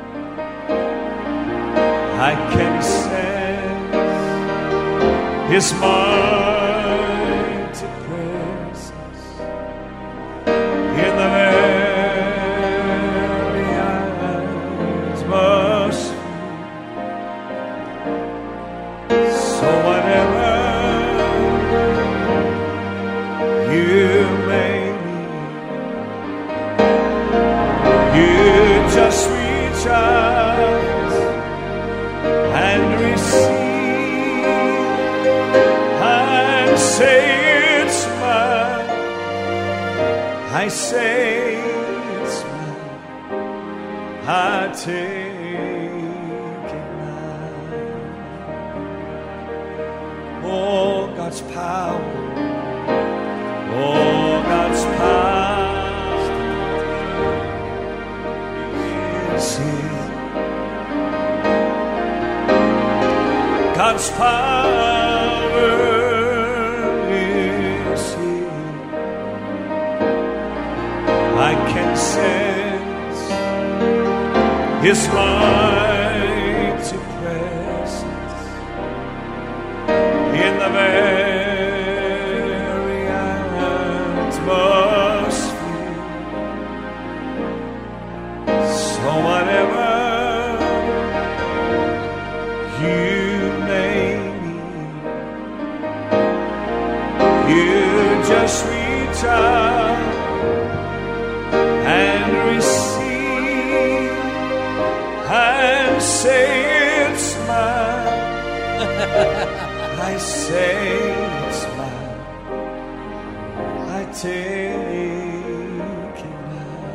I can sense His mighty presence in the very atmosphere. So whatever you may need, you just reach out and receive and say it's mine. I say it's mine. I take it now. Oh, God's power. Oh, God's power is here. God's power is here. I can sense His mighty presence in the very atmosphere. So whatever you may need, you just reach out and receive and say it's mine. I say it's mine. I take it now.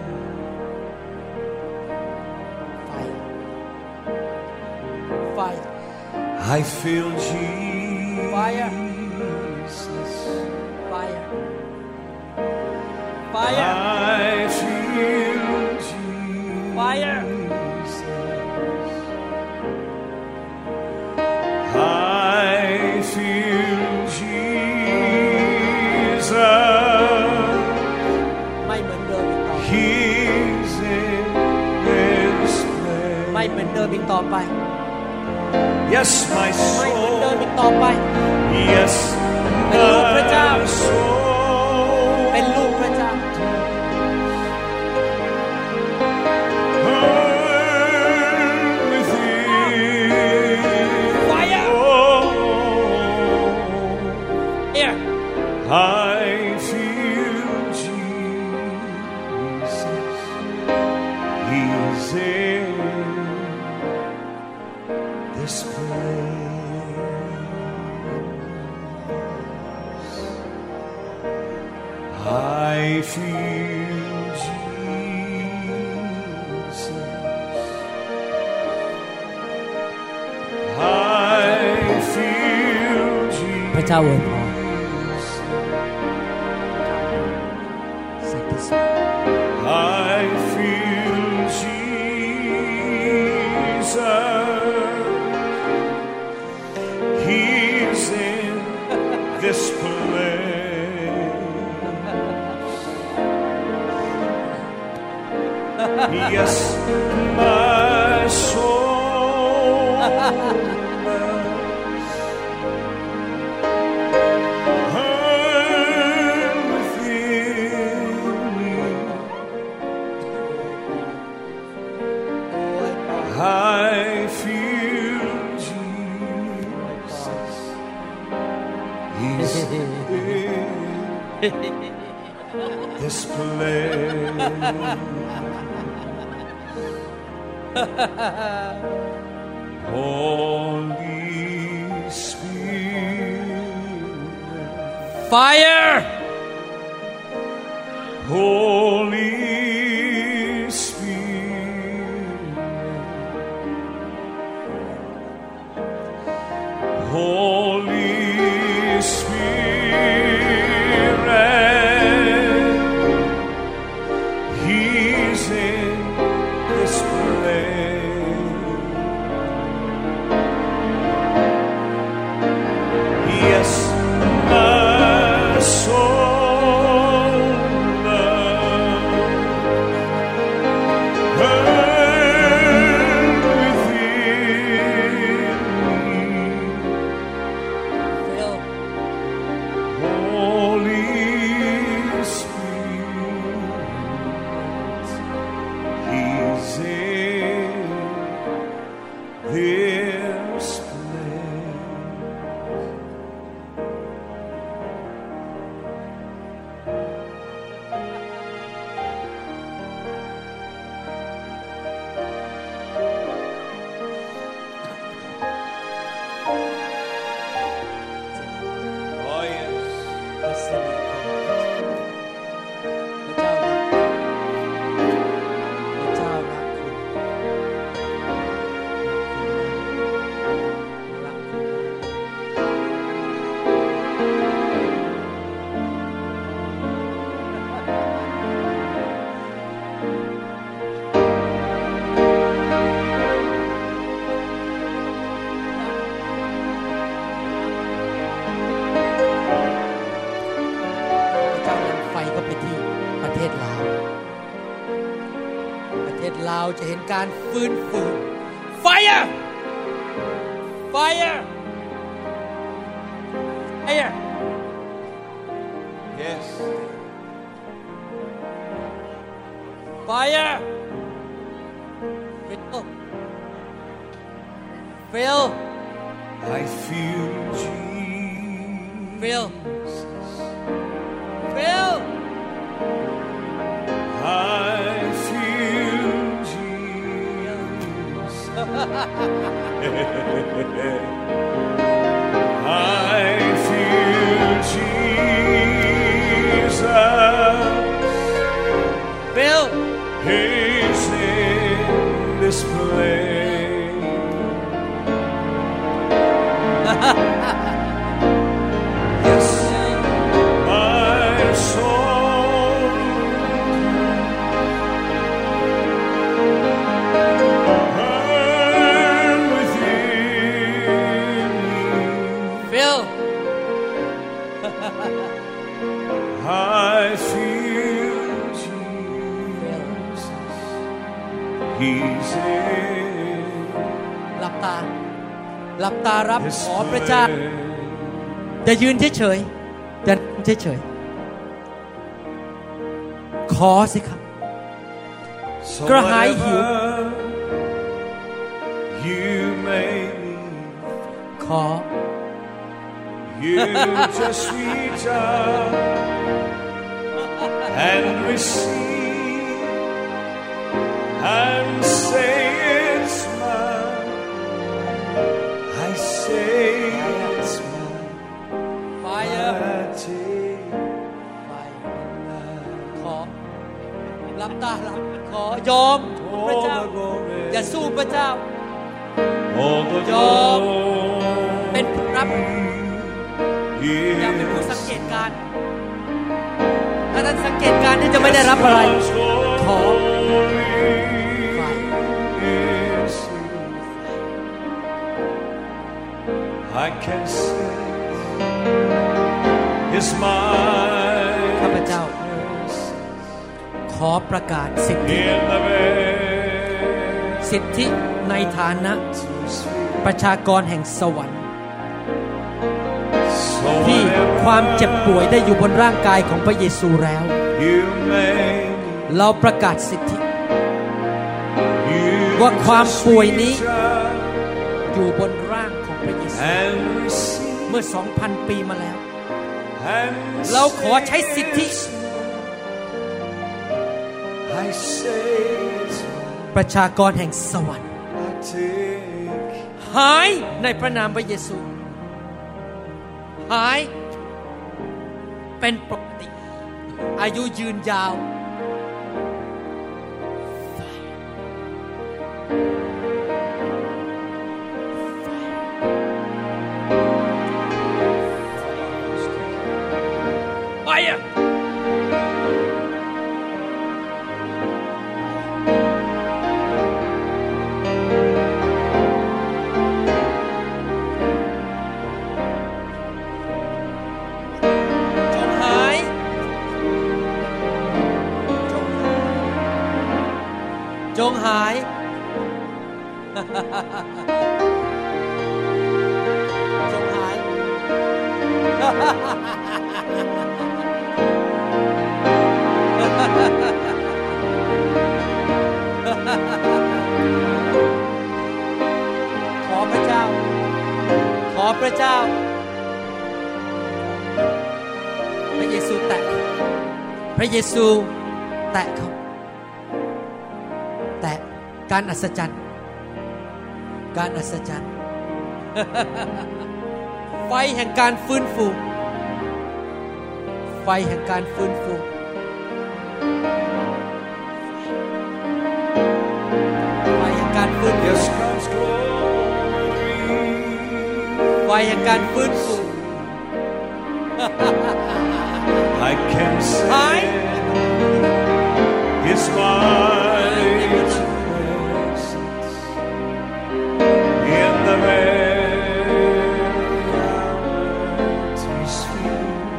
Fire. I feel Jesus. Fire. Fire. Fire. I feel Jesus. Fire. I feel Jesus. ไม่เหมือนเดิมอีกต่อไป He's in this ไม่เหมือนเดิมอีกต่อไป Yes, my ไม่เหมือน soul. เดิมอีกต่อไป Yes, เป็นลูกพระเจ้า my soul. เป็นลูกพระเจ้า Burn within. Fire. Oh, Here. I feel Jesus. He's in this place. I feel Jesus. I feel Jesus. พระเจ้าอวยพร I feel Jesus. He's in this place. Yes, my soul burn within me. this place. Holy Spirit, Fire! Holy Spirit, Holy Spirit, He's in this place. Yes, my soul loves burn within me. Fill. Holy Spirit, He's in this place. Oh yes. พระสิริของพระเจ้ารักคุณ รักคุณ พระเจ้านำไฟเข้าไปที่ประเทศลาว ประเทศลาวจะเห็นการฟื้นฟู Fire! Fire! Fire! Yes. Fire! Fill! Fill! I feel Jesus. Fill! Fill! I feel Jesus. I feel Jesus. Fill! He's in this place. Yes, my soul burn within me. Fill! I feel Jesus. He's in หลับตา หลับตารับ this ขอพระเจ้า place. จะยืนเฉยๆจะนั่งเฉยๆขอสิครับ So กระหายหิว whatever you may need, ขอ you just reach out and receive and say it's mine. I say it's mine. Fire I take Fire ขอหลับตาหลับขอยอมพระ all เจ้า the glory, อย่าสู้พระเจ้า all the ยอม เป็นผู้รับ glory อย่าเป็นผู้ is สังเกตการณ์ถ้าท่านสังเกตการณ์นี่จะไม่ได้รับอะไร ขอ I can sense His mind ข้าพเจ้า ขอประกาศสิทธิ in the สิทธิในฐานะประชากรแห่งสวรรค์ So ที่ความเจ็บป่วยได้อยู่บนร่างกายของพระเยซูแล้ว you may เราประกาศสิทธิ ว่าความป่วยนี้อยู่บนร่างของพระเยซู and receive เมื่อ 2,000 ปีมาแล้ว and เราขอใช้สิทธิประชากรแห่งสวรรค์หายในพระนามพระเยซูหายเป็นปกติอายุยืนยาวไปอ่ะจงหายจงหายขอพระเจ้าขอพระเจ้าพระเยซูแตะพระเยซูแตะเขาแต่การอัศจรรย์การอัศจรรย์ ไฟแห่งการฟื้นฟูไฟแห่งการฟื้นฟูไฟแห่งการฟื้นฟูไฟแห่งการฟื้นฟู I can say His mighty presence in the very hour at His feet.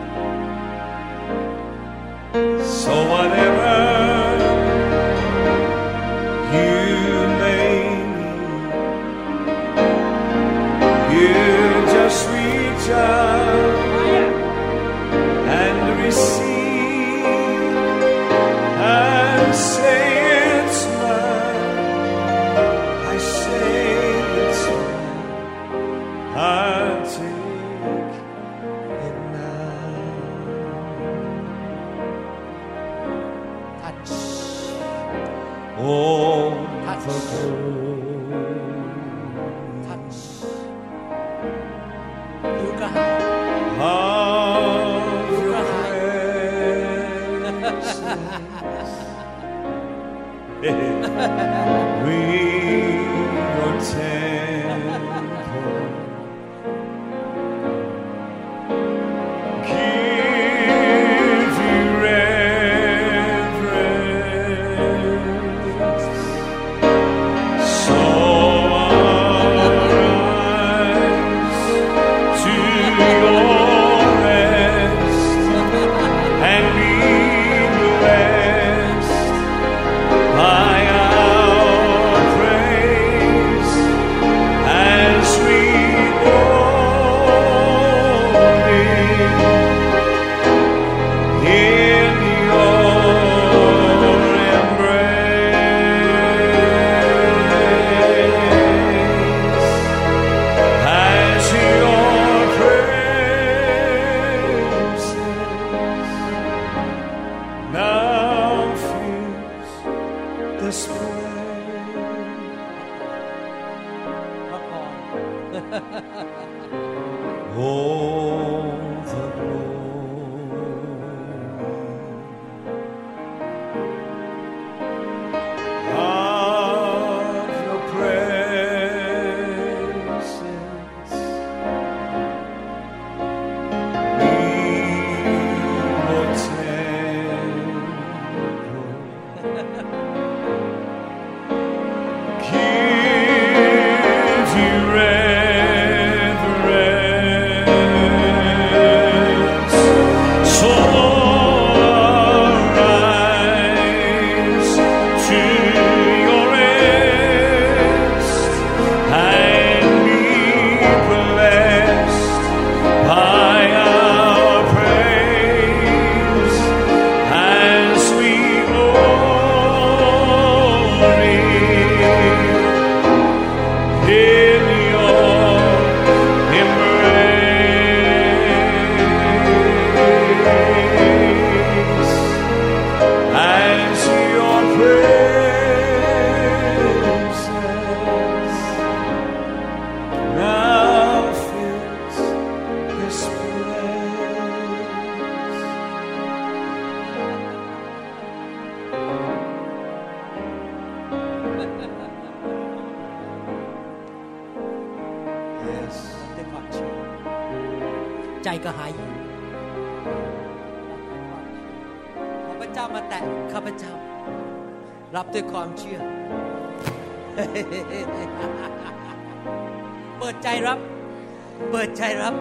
So whatever you may need, you just reach out and receive and say it's mine. I say it's mine. I take it now. Touch Oh, Touch. for Touch ดูกระหาย of your presence. We your temple. Give you reverence. So arise to your rest and be blessed by our ก็หายหิวขอพระเจ้ามาแตะข้าพเจ้ารับด้วยความเชื่อ เปิดใจรับเปิดใจรับ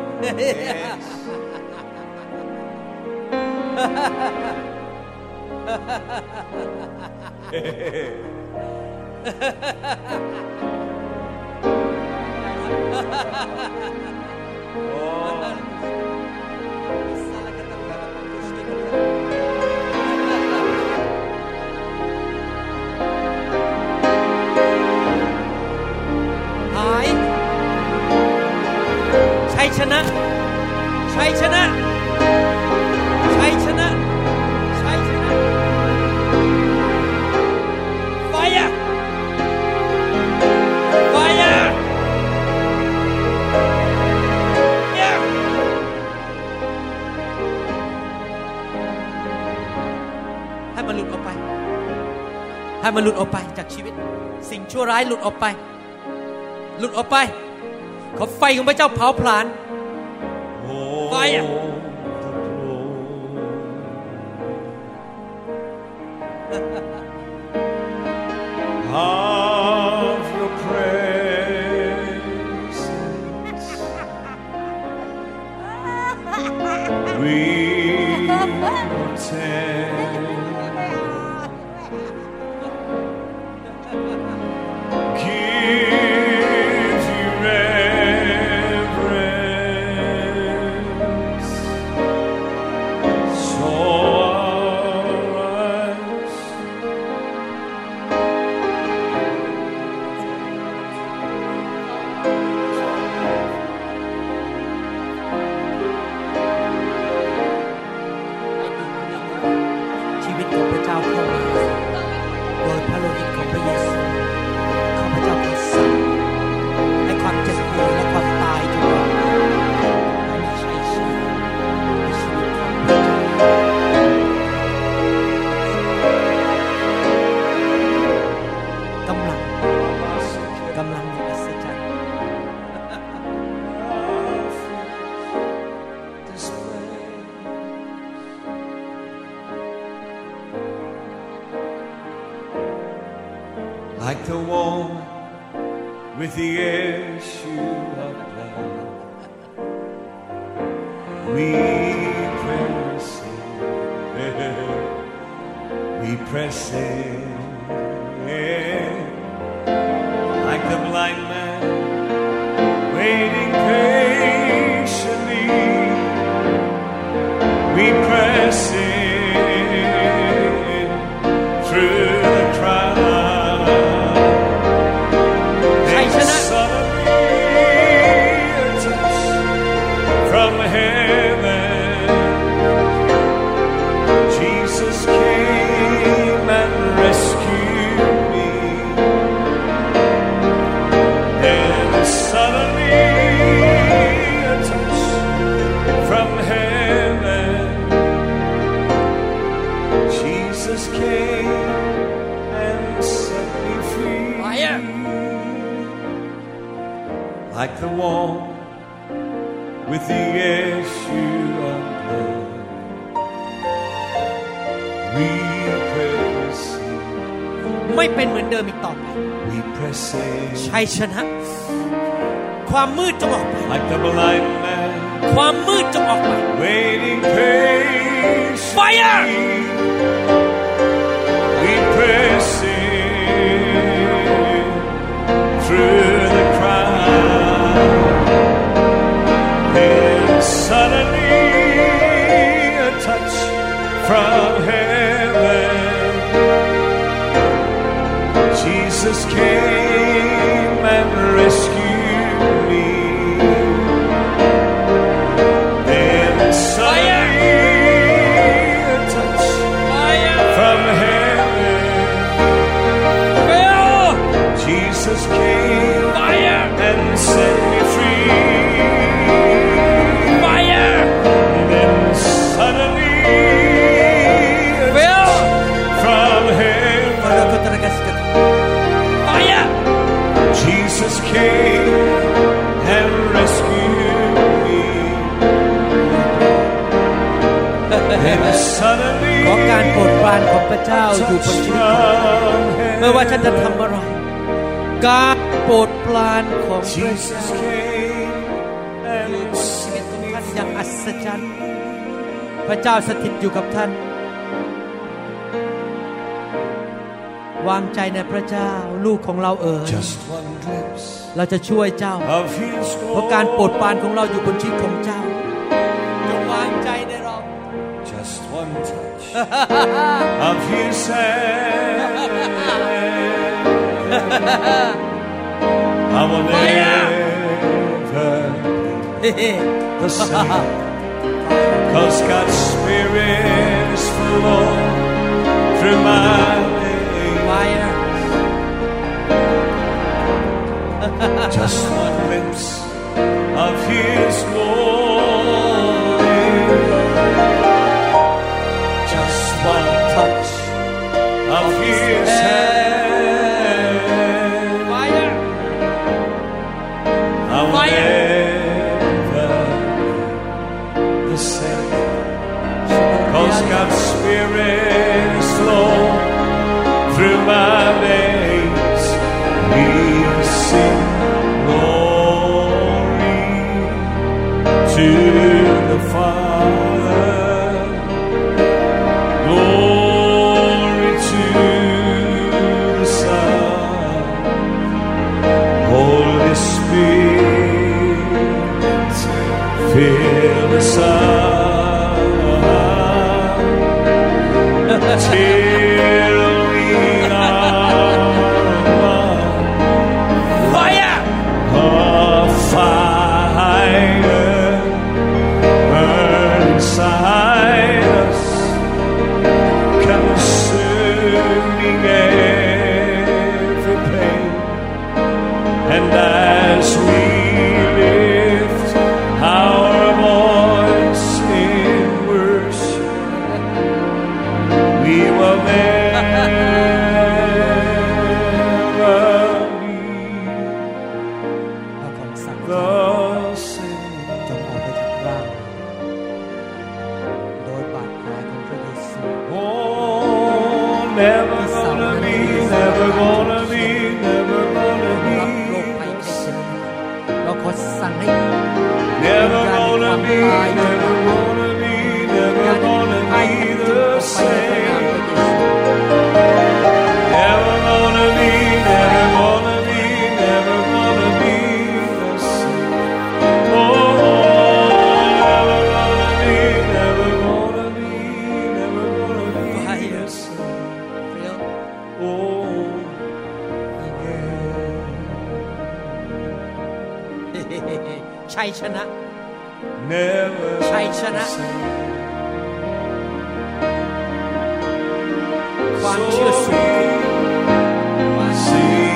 หายชัยชนะชัยชนะชัยชนะชัยชนะ Fire Fire Yeah ให้มันหลุดออกไปให้มันหลุดออกไปจากชีวิตสิ่งชั่วร้ายหลุดออกไปหลุดออกไปขอไฟของพระเจ้าเผาผลาญไฟอ่ะ of your presence we attend. Give you reverence. So arise. Like the one with the issue of blood, we press in, like the blind man waiting patiently, we press in through the crowd. From heaven, Jesus came and rescued me. And suddenly a touch from heaven, Jesus came and set me free. Like the one with the issue of blood, we press in. ไม่เป็นเหมือนเดิมอีกต่อไป We press in. ชัยชนะความมืดจงออกไป Like the blind man ความมืดจงออกไป waiting patiently. Fire! We press in through the crowd. And suddenly a touch from heaven, Jesus came and rescued me. Then suddenly a touch from heaven, Jesus came and set me free. From heaven, ขอการโปรดปรานของพระเจ้าอยู่บนชีวิตของท่านไม่ว่าท่านจะทำอะไรการโปรดปรานของพระเจ้าอยู่บนชีวิตของท่านอย่างอัศจรรย์พระเจ้าสถิตอยู่กับท่านวางใจในพระเจ้าลูกของเราเอ๋ยเราจะช่วยเจ้าเพราะการโปรดปรานของเราอยู่บนชีวิตของเจ้าจงวางใจในเรา Just one touch of His hand I will never the same 'cause God's Spirit is flowing through my fire just one glimpse of His glory just one touch of His hand fire I will never the same 'cause God's Spirit is flowing through my veins we sing glory to the Father glory to the Son Holy Spirit fill us up till we are one fire fire burn inside us consuming every pain and as we lift our voice in worship we will never leave พระคำสั่ง the same จงออกไปจากร่างโดยบาดแผลของพระเยซู Oh, never gonna be, never gonna be, never gonna รับโรค be ภัยไข้เจ็บเราขอสั่งให้ Never gonna be, never gonna be, never gonna be the same Never gonna be, never gonna be, never gonna be the same Oh, never gonna be, never gonna be, never gonna be the same Oh, yeah ชัยชนะ Never ชัยชนะ ความเชื่อสูงขึ้น Sing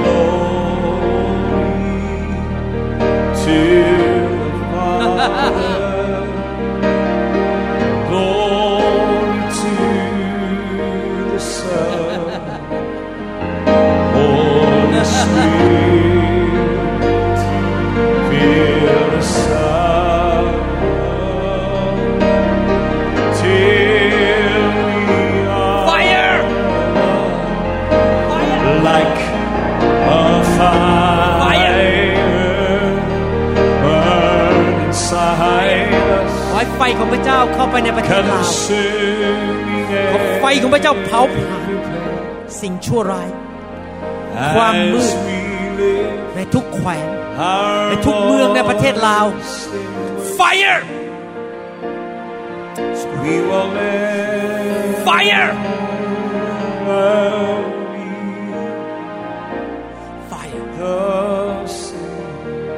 glory to the Father, glory to the Son, Holy Spirit, fill us up till we are Fire! like a fire burn inside us ขอให้ไฟของพระเจ้าเข้าไปในประเทศลาว consuming ขอไฟของพระเจ้าเผาผลาญสิ่งชั่วร้าย ความมืด as we live ในทุกแขวง our ในทุกเมืองในประเทศลาว Fire! we will never Fire! be Fire! the same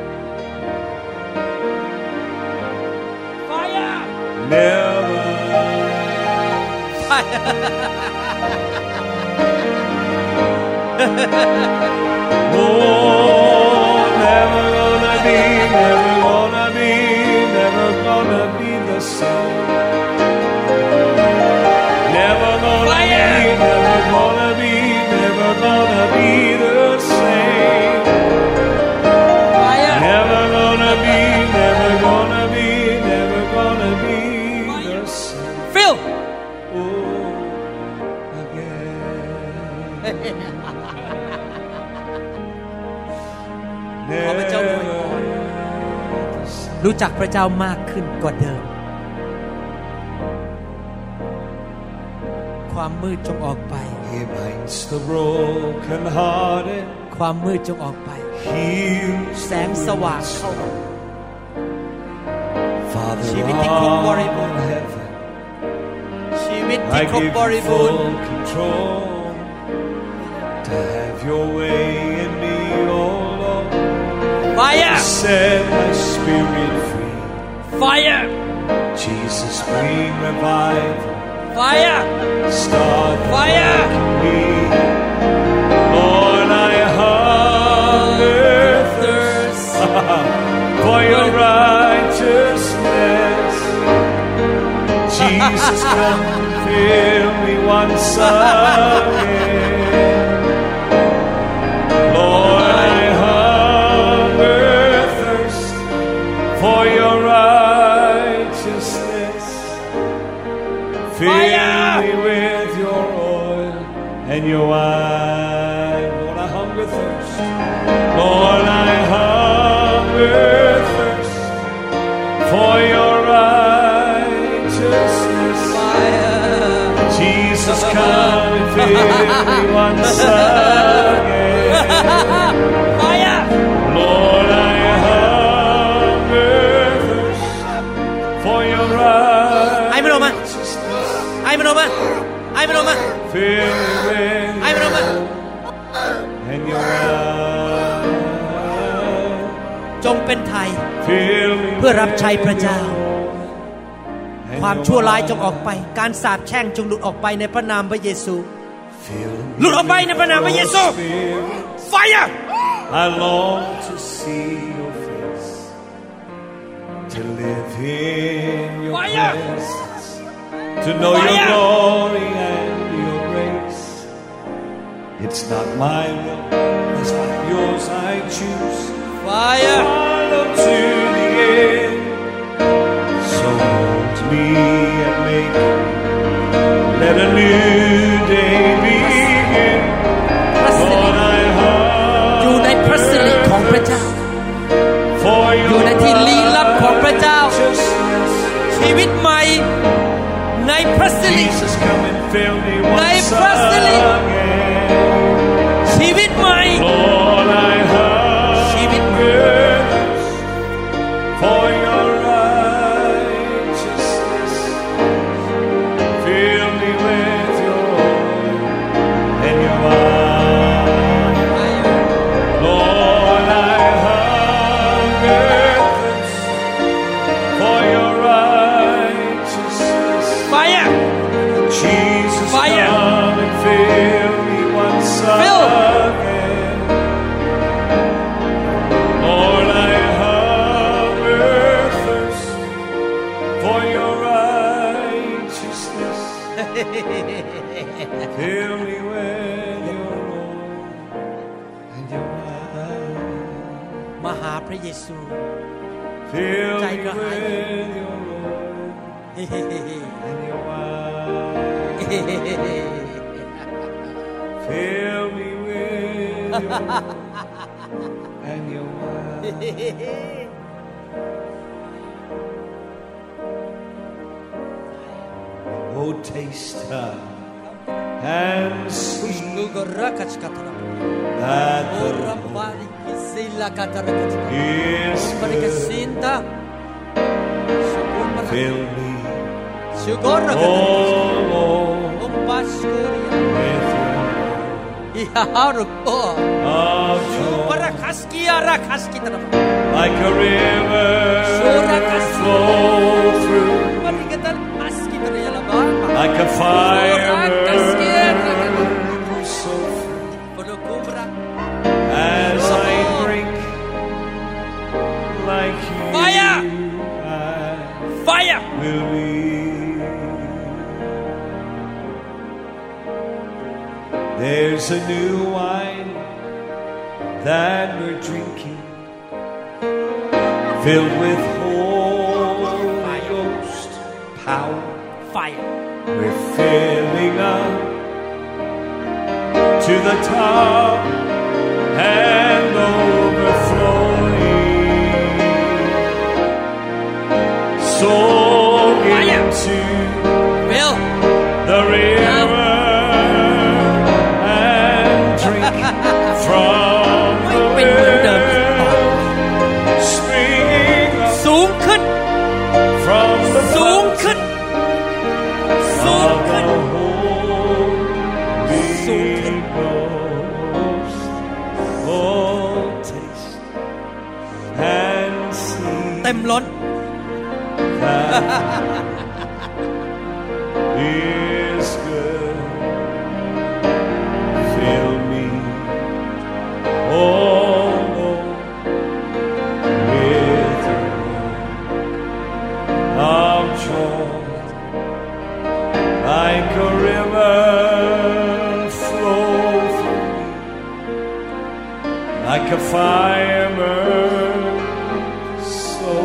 Fire! never Fire! Oh, never gonna be, never gonna be, never gonna be the same. Never gonna Fire! be, never gonna be, never gonna be the same. Fire! Never gonna be, never gonna be, never gonna be the same. รู้จักพระเจ้ามากขึ้นกว่าเดิมความมืดจงออกไป He binds the brokenhearted. ความมืดจงออกไป Heals แสงสว่างเข้ามา Father ชีวิตที่ครบบริบูรณ์ of heaven. ชีวิตที่ I ครบ give บ you ริบูรณ์ full control to have your way in me, oh Lord. Fire Set my spirit free. Fire Jesus, bring revival. Fire Start Fire me. Lord, I hunger thirst for your righteousness. Jesus, come and fill me once again. Lord, I hunger thirst for your righteousness. Fill me with your oil and your wine. Lord, I hunger thirst. Lord, I hunger thirst for your righteousness. Jesus, come and fill me once again. Fire Lord, I hunger thirst for your righteousness. ไอ้มันออกมาไอ้มันออกมาไอ้มันออกมา Fill me with ไอ้มันออกมา and your wine. จงเป็นไทย Fill me เพื่อรับใช้พระเจ้า and ความ your ชั่วร้ายจง wine. ออกไปการสาปแช่งจงหลุดออกไปในพระนามพระเยซู Fill me หลุดออกไปในพระนามพระเยซู with your spirit. Fire I long to see your face, to live in your Fire! presence, to know your Fire! glory and your grace. It's not my will, it's not yours I choose. Fire Follow to the end. So hold me and make me. Let a new day begin. Lord, I อยู่ในพระสิริของพระเจ้า for อยู่ your ในที่ลี้ลับของพระเจ้า righteousness. ชีวิตใหม่ในพระสิริ Jesus, come and fill me once Thy facility. again. ชีวิตใหม่ Lord, I hunger for your righteousness. Fill me with your oil and your wine. Lord, I hunger for your righteousness. Fire Jesus, Fire. come and fill me once Fill. again. Lord, I hunger thirst for your righteousness. Fill me with your oil and your wine. มาหาพระเยซู Fill me Tiger with High. your oil and your wine. Fill me with your oil and your wine. Oh, taste and see that the Lord is good. Fill me, oh Lord, with your of joy, like a river flow through, like a fire burn so free. As I drink like you, Fire! I Fire will be. There's a new wine that we're drinking, filled with Holy Ghost power. Fire We're filling up to the top and overflowing. like a fire burns so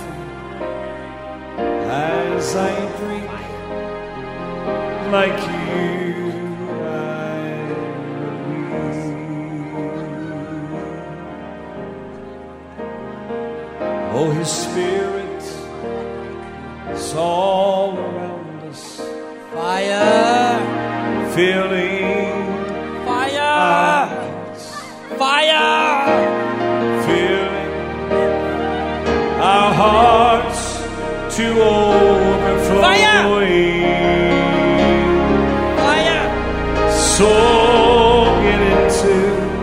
as I drink like you I believe. Oh, His Spirit is all around us, Fire! filling Fire! Fire! filling our hearts to overflowing. Fire! So get into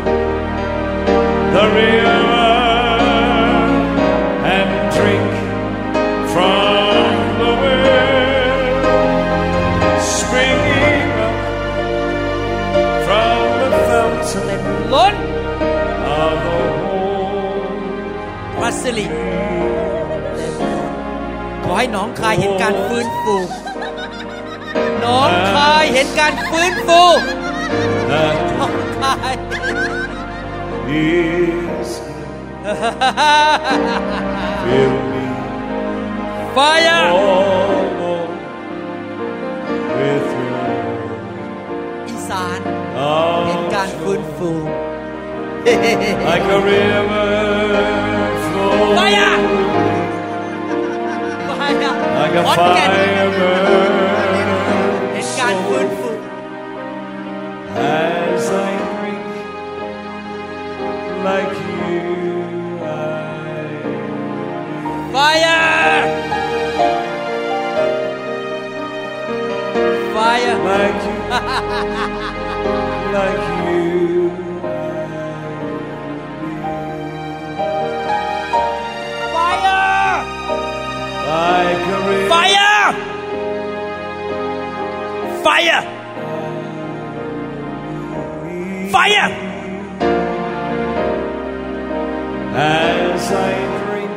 the river and drink from the well, springing up from the fountain ล้น of the whole. พระสิริขอให้หนองคายเห็นการฟื้นฟูหนองคายเห็นการฟื้นฟู That หนองคาย is fill me Fire! all with your อีสาน love. เห็นการฟื้นฟู Like a river flowing, Fire! Fire! like a ขอนแก่น fire เห็น burns การฟื้น so ฟู as I drink like you I Fire! Fire! like you like you Fire! like a river Fire! Fire! Fire! as I drink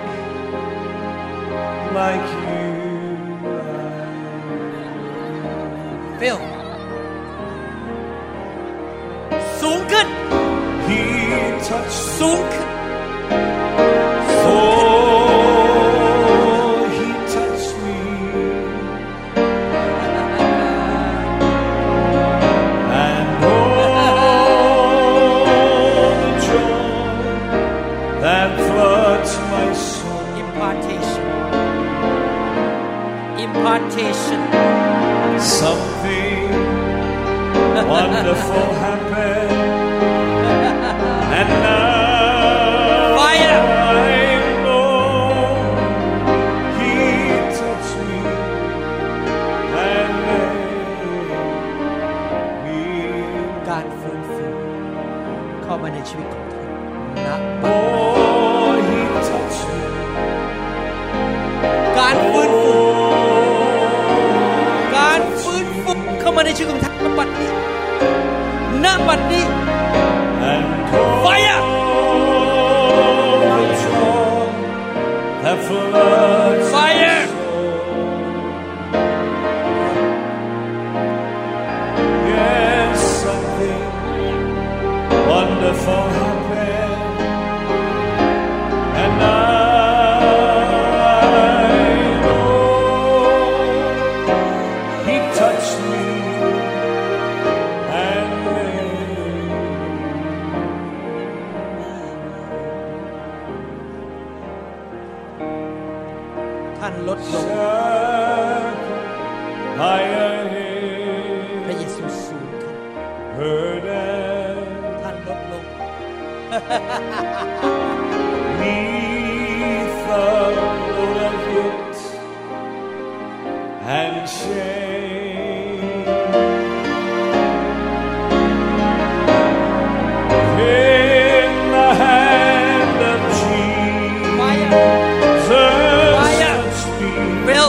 like you Phil สูงขึ้น He touched สูงขึ้น oh He touched me and the joy that floods my soul Impartation Impartation something wonderful happened and now Fire! I know He touched me and made me การฟื้นฟูเข้ามาในชีวิตของท่านณบัด oh He touched me การฟื้นฟู oh การฟื้นฟูเข้ามาในชีวิตของท่านณบัดนี้ณบัดนี้ and Fire! the joy that floods Fire! my soul. Yes, something wonderful happened, and I know He touched me and made ท่านลดลง higher พระเยซูสูงขึ้น burden ท่านลดลง neath the load of guilt and shame. In the hand of Fire! Jesus, Fire! touched me, Phil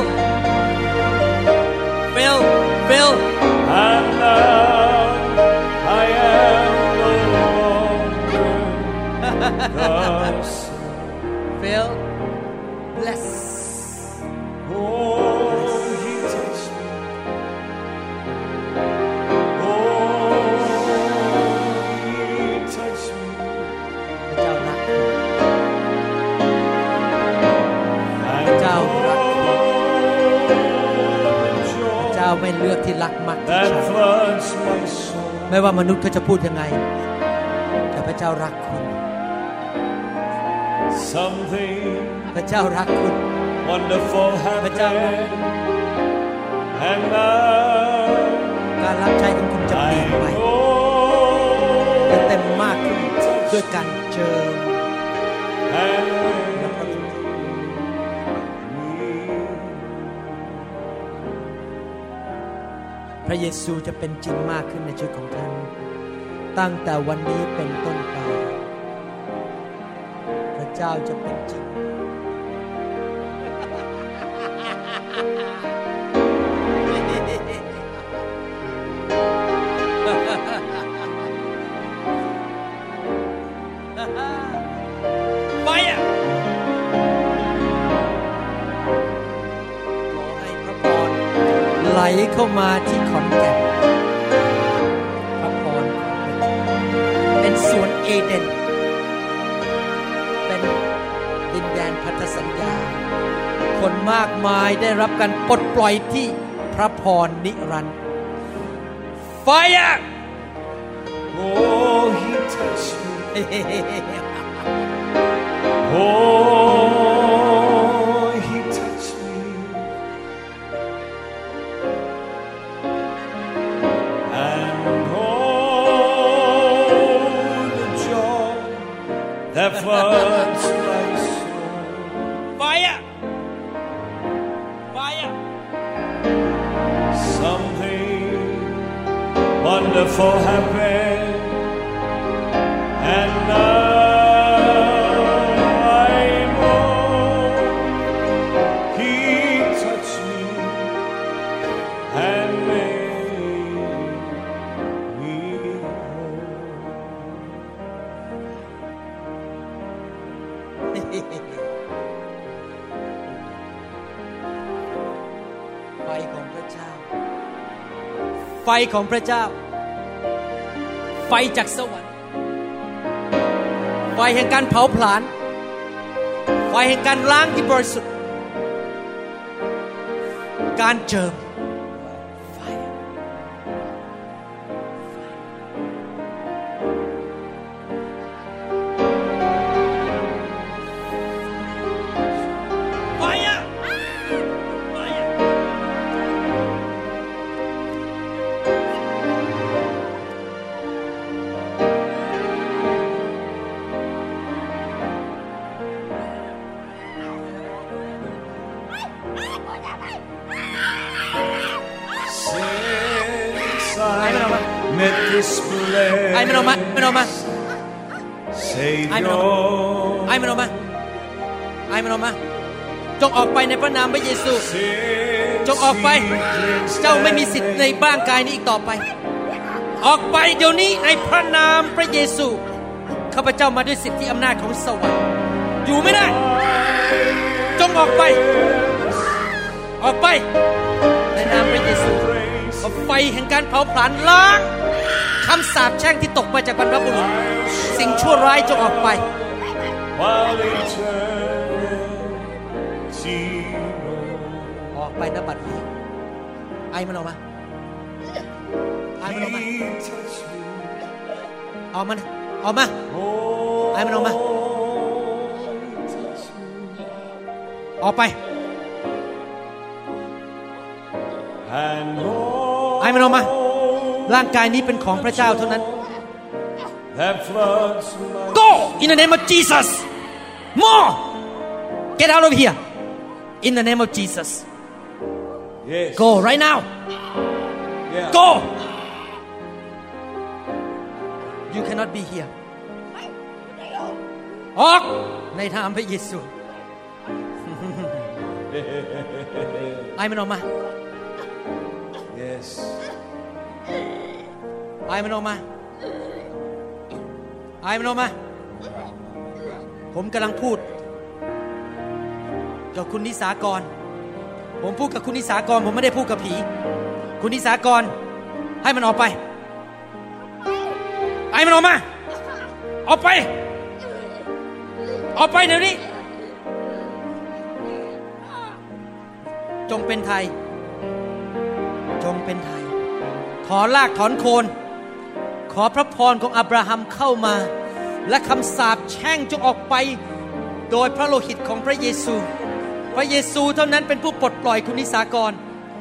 Phil Phil and now I am no longer the same. Phil bless Oh, He touched me. Oh, He touched me. พระเจ้าไม่เลือกที่รักมักที่ that ชัง floods my soul. ไม่ว่ามนุษย์เขาจะพูดยังไงแต่พระเจ้ารักคุณ Something พระเจ้ารักคุณ wonderful พระเจ้า happened, and now การรับใช้ของคุณจะเปลี่ยน I ไป know จะเต็มมากขึ้นด้วยการเจิม and และพระวิญญาณพระเยซูจะเป็นจริงมากขึ้นในชีวิตของท่านตั้งแต่วันนี้เป็นต้นไปพระเจ้าจะเป็นจริงไปอ่ะขอให้พระพรไหลเข้ามาที่ขอนแก่นพระพรของพระเจ้าเป็นสวนเอเดนเป็นดินแดนพันธสัญญาคนมากมายได้รับการปลดปล่อยที่พระพรนิรันดร์ไฟอ่ะ oh, he touched me. Oh, he touched me, and oh, the joy that floods my soul. Fire! Fire! Something wonderful happened, and now ไฟของพระเจ้าไฟของพระเจ้าไฟจากสวรรค์ไฟแห่งการเผาผลาญไฟแห่งการล้างที่บริสุทธิ์การเจิมไฟไฟอะไฟอะ Since I met this blessed ไอ้มันออกมามันออกมา Savior, ไอ้มันออกมาไอ้มันออกมาไอ้มันออกมาจงออกไปในพระนามพระเยซู จงออกไปเจ้าไม่มีสิทธิ์ในบ้านกายนี้อีกต่อไปออกไปเดี๋ยวนี้ในพระนามพระเยซูข้าพเจ้ามาด้วยสิทธิอำนาจของสวรรค์อยู่ไม่ได้จงออกไปออกไปในนามพระเยซูเอาไฟแห่งการเผาผลาญล้างคำสาปแช่งที่ตกมาจากบรรพบุรุษสิ่งชั่วร้ายจงออกไป while eternity ออกไปณบัดนี้ไอ้มันออกมาไอ้มันออกมา He touched me. ออกมาออกมา Oh, ไอ้มันออกมา he touched me. ออกไป And ไอ้มันออกมาร่างกายนี้เป็นของพระเจ้าเท่านั้น that floods my Go in the name of Jesus more get out of here in the name of Jesus yes. go right now Yeah. go you cannot be here ออกในนามพระเยซู ไอ้มันออกมา Yes. ไอ้มันออกมาไอ้มันออกมาผมกำลังพูดกับคุณนิสากรผมพูดกับคุณนิสากรผมไม่ได้พูดกับผีคุณนิสากรให้มันออกไปไอ้มันออกมาออกไปออกไปเดี๋ยวนี้จงเป็นไทยจงเป็นไทยถอนรากถอนโคนขอพระพรของอับราฮัมเข้ามาและคำสาปแช่งจงออกไปโดยพระโลหิตของพระเยซูพระเยซูเท่านั้นเป็นผู้ปลดปล่อยคุณนิสากร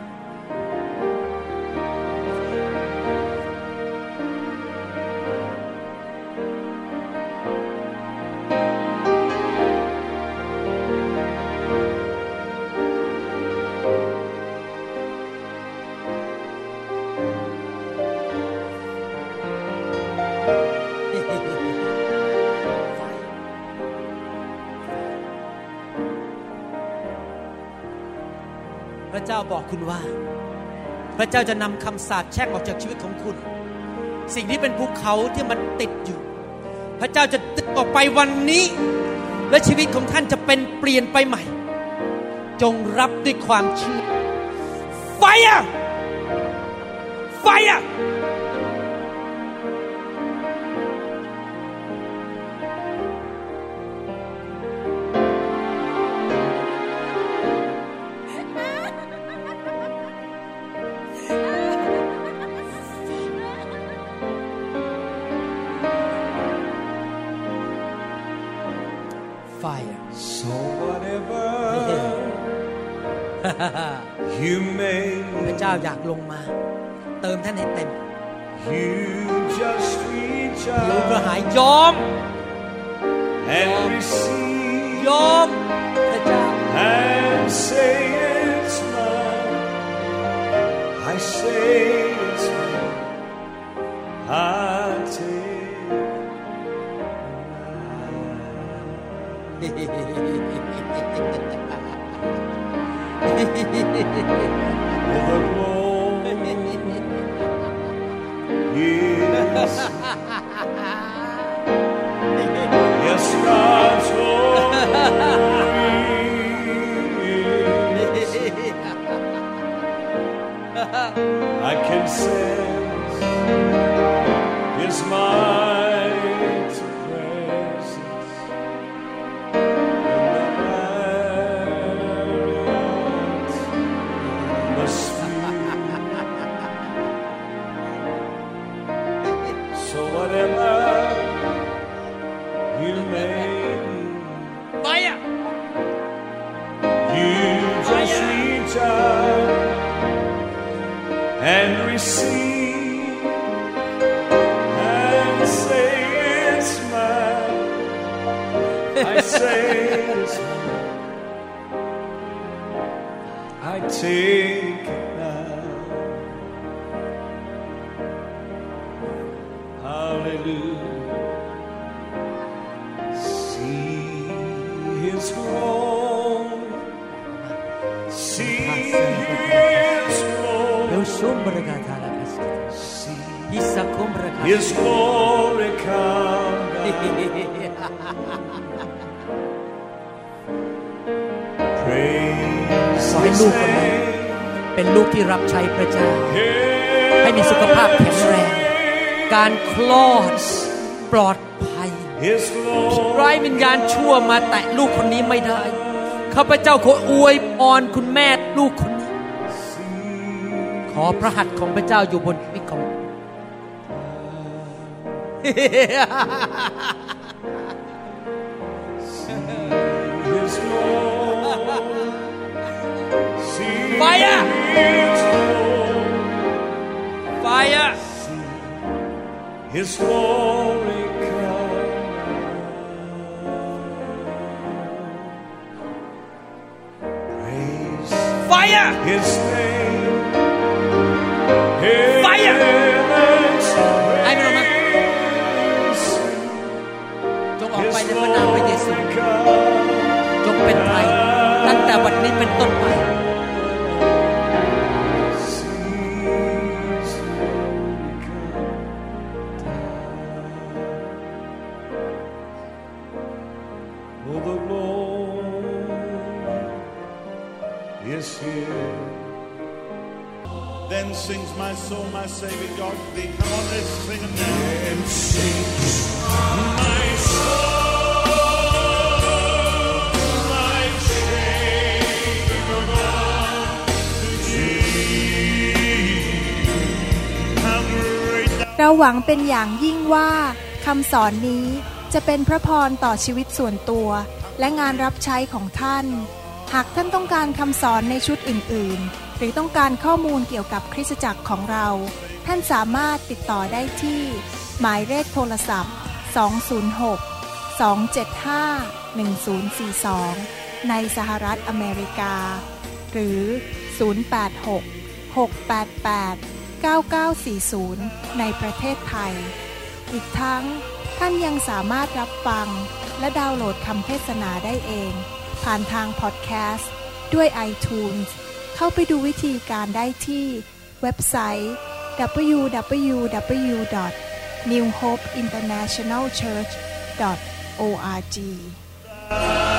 พระเจ้าบอกคุณว่าพระเจ้าจะนำคำสาปแช่งออกจากชีวิตของคุณสิ่งที่เป็นภูเขาที่มันติดอยู่พระเจ้าจะดึงออกไปวันนี้และชีวิตของท่านจะเป็นเปลี่ยนไปใหม่จงรับด้วยความเชื่อ Fire Fire So whatever you may พระเจ้าอยากลงมาเติมท่านให้เต็ม You just reach รู้กระหาย out ยอม and receive ยอมพระเจ้า and say it's mine. I say it's mine. I take the glory is yes, God's glory is. I can sense His mighty presence in the Spirit. So whatever you may Fire you just reach out and receive and say it's mine. I say it's mine. I take it now. Hallelujah. See His glory. See His เดี๋ยว glory. ซุมบรกาธาราคัส See ฮิสะคุมบรกา His glory come down. Praise ขอให้ His ลูกคนนั้น name. เป็นลูกที่รับใช้พระเจ้า ให้มีสุขภาพแข็งแรงการคลอดปลอดภัย His glory ร้ายวิญญาณชั่วมาแตะลูกคนนี้ไม่ได้ข้าพเจ้าขออวยพรคุณแม่ลูกคนนี้ขอพระหัตถ์ของพระเจ้าอยู่บนชีวิตของ His glory. See Fire! His glory. Fire His glory come. Praise Fire His name. Fire! Heaven's ให้มันออกมา praise. จงออกไป His ในพระนามพระเยซู glory come. จงเป็นไทยตั้งแต่วันนี้เป็นต้นไป Seas come down. Oh, the Lord is here. Then sings my soul, my Savior God to thee. Come on, let's sing it now. And sings my soul, my Savior God to thee. เราหวังเป็นอย่างยิ่งว่าคำสอนนี้จะเป็นพระพรต่อชีวิตส่วนตัวและงานรับใช้ของท่านหากท่านต้องการคำสอนในชุดอื่นๆหรือต้องการข้อมูลเกี่ยวกับคริสตจักรของเราท่านสามารถติดต่อได้ที่หมายเลขโทรศัพท์206-275-1042ในสหรัฐอเมริกาหรือ086-688-9940ในประเทศไทยอีกทั้งท่านยังสามารถรับฟังและดาวน์โหลดคำเทศนาได้เองผ่านทางพอดแคสต์ด้วย iTunes เข้าไปดูวิธีการได้ที่เว็บไซต์ www.newhopeinternationalchurch.org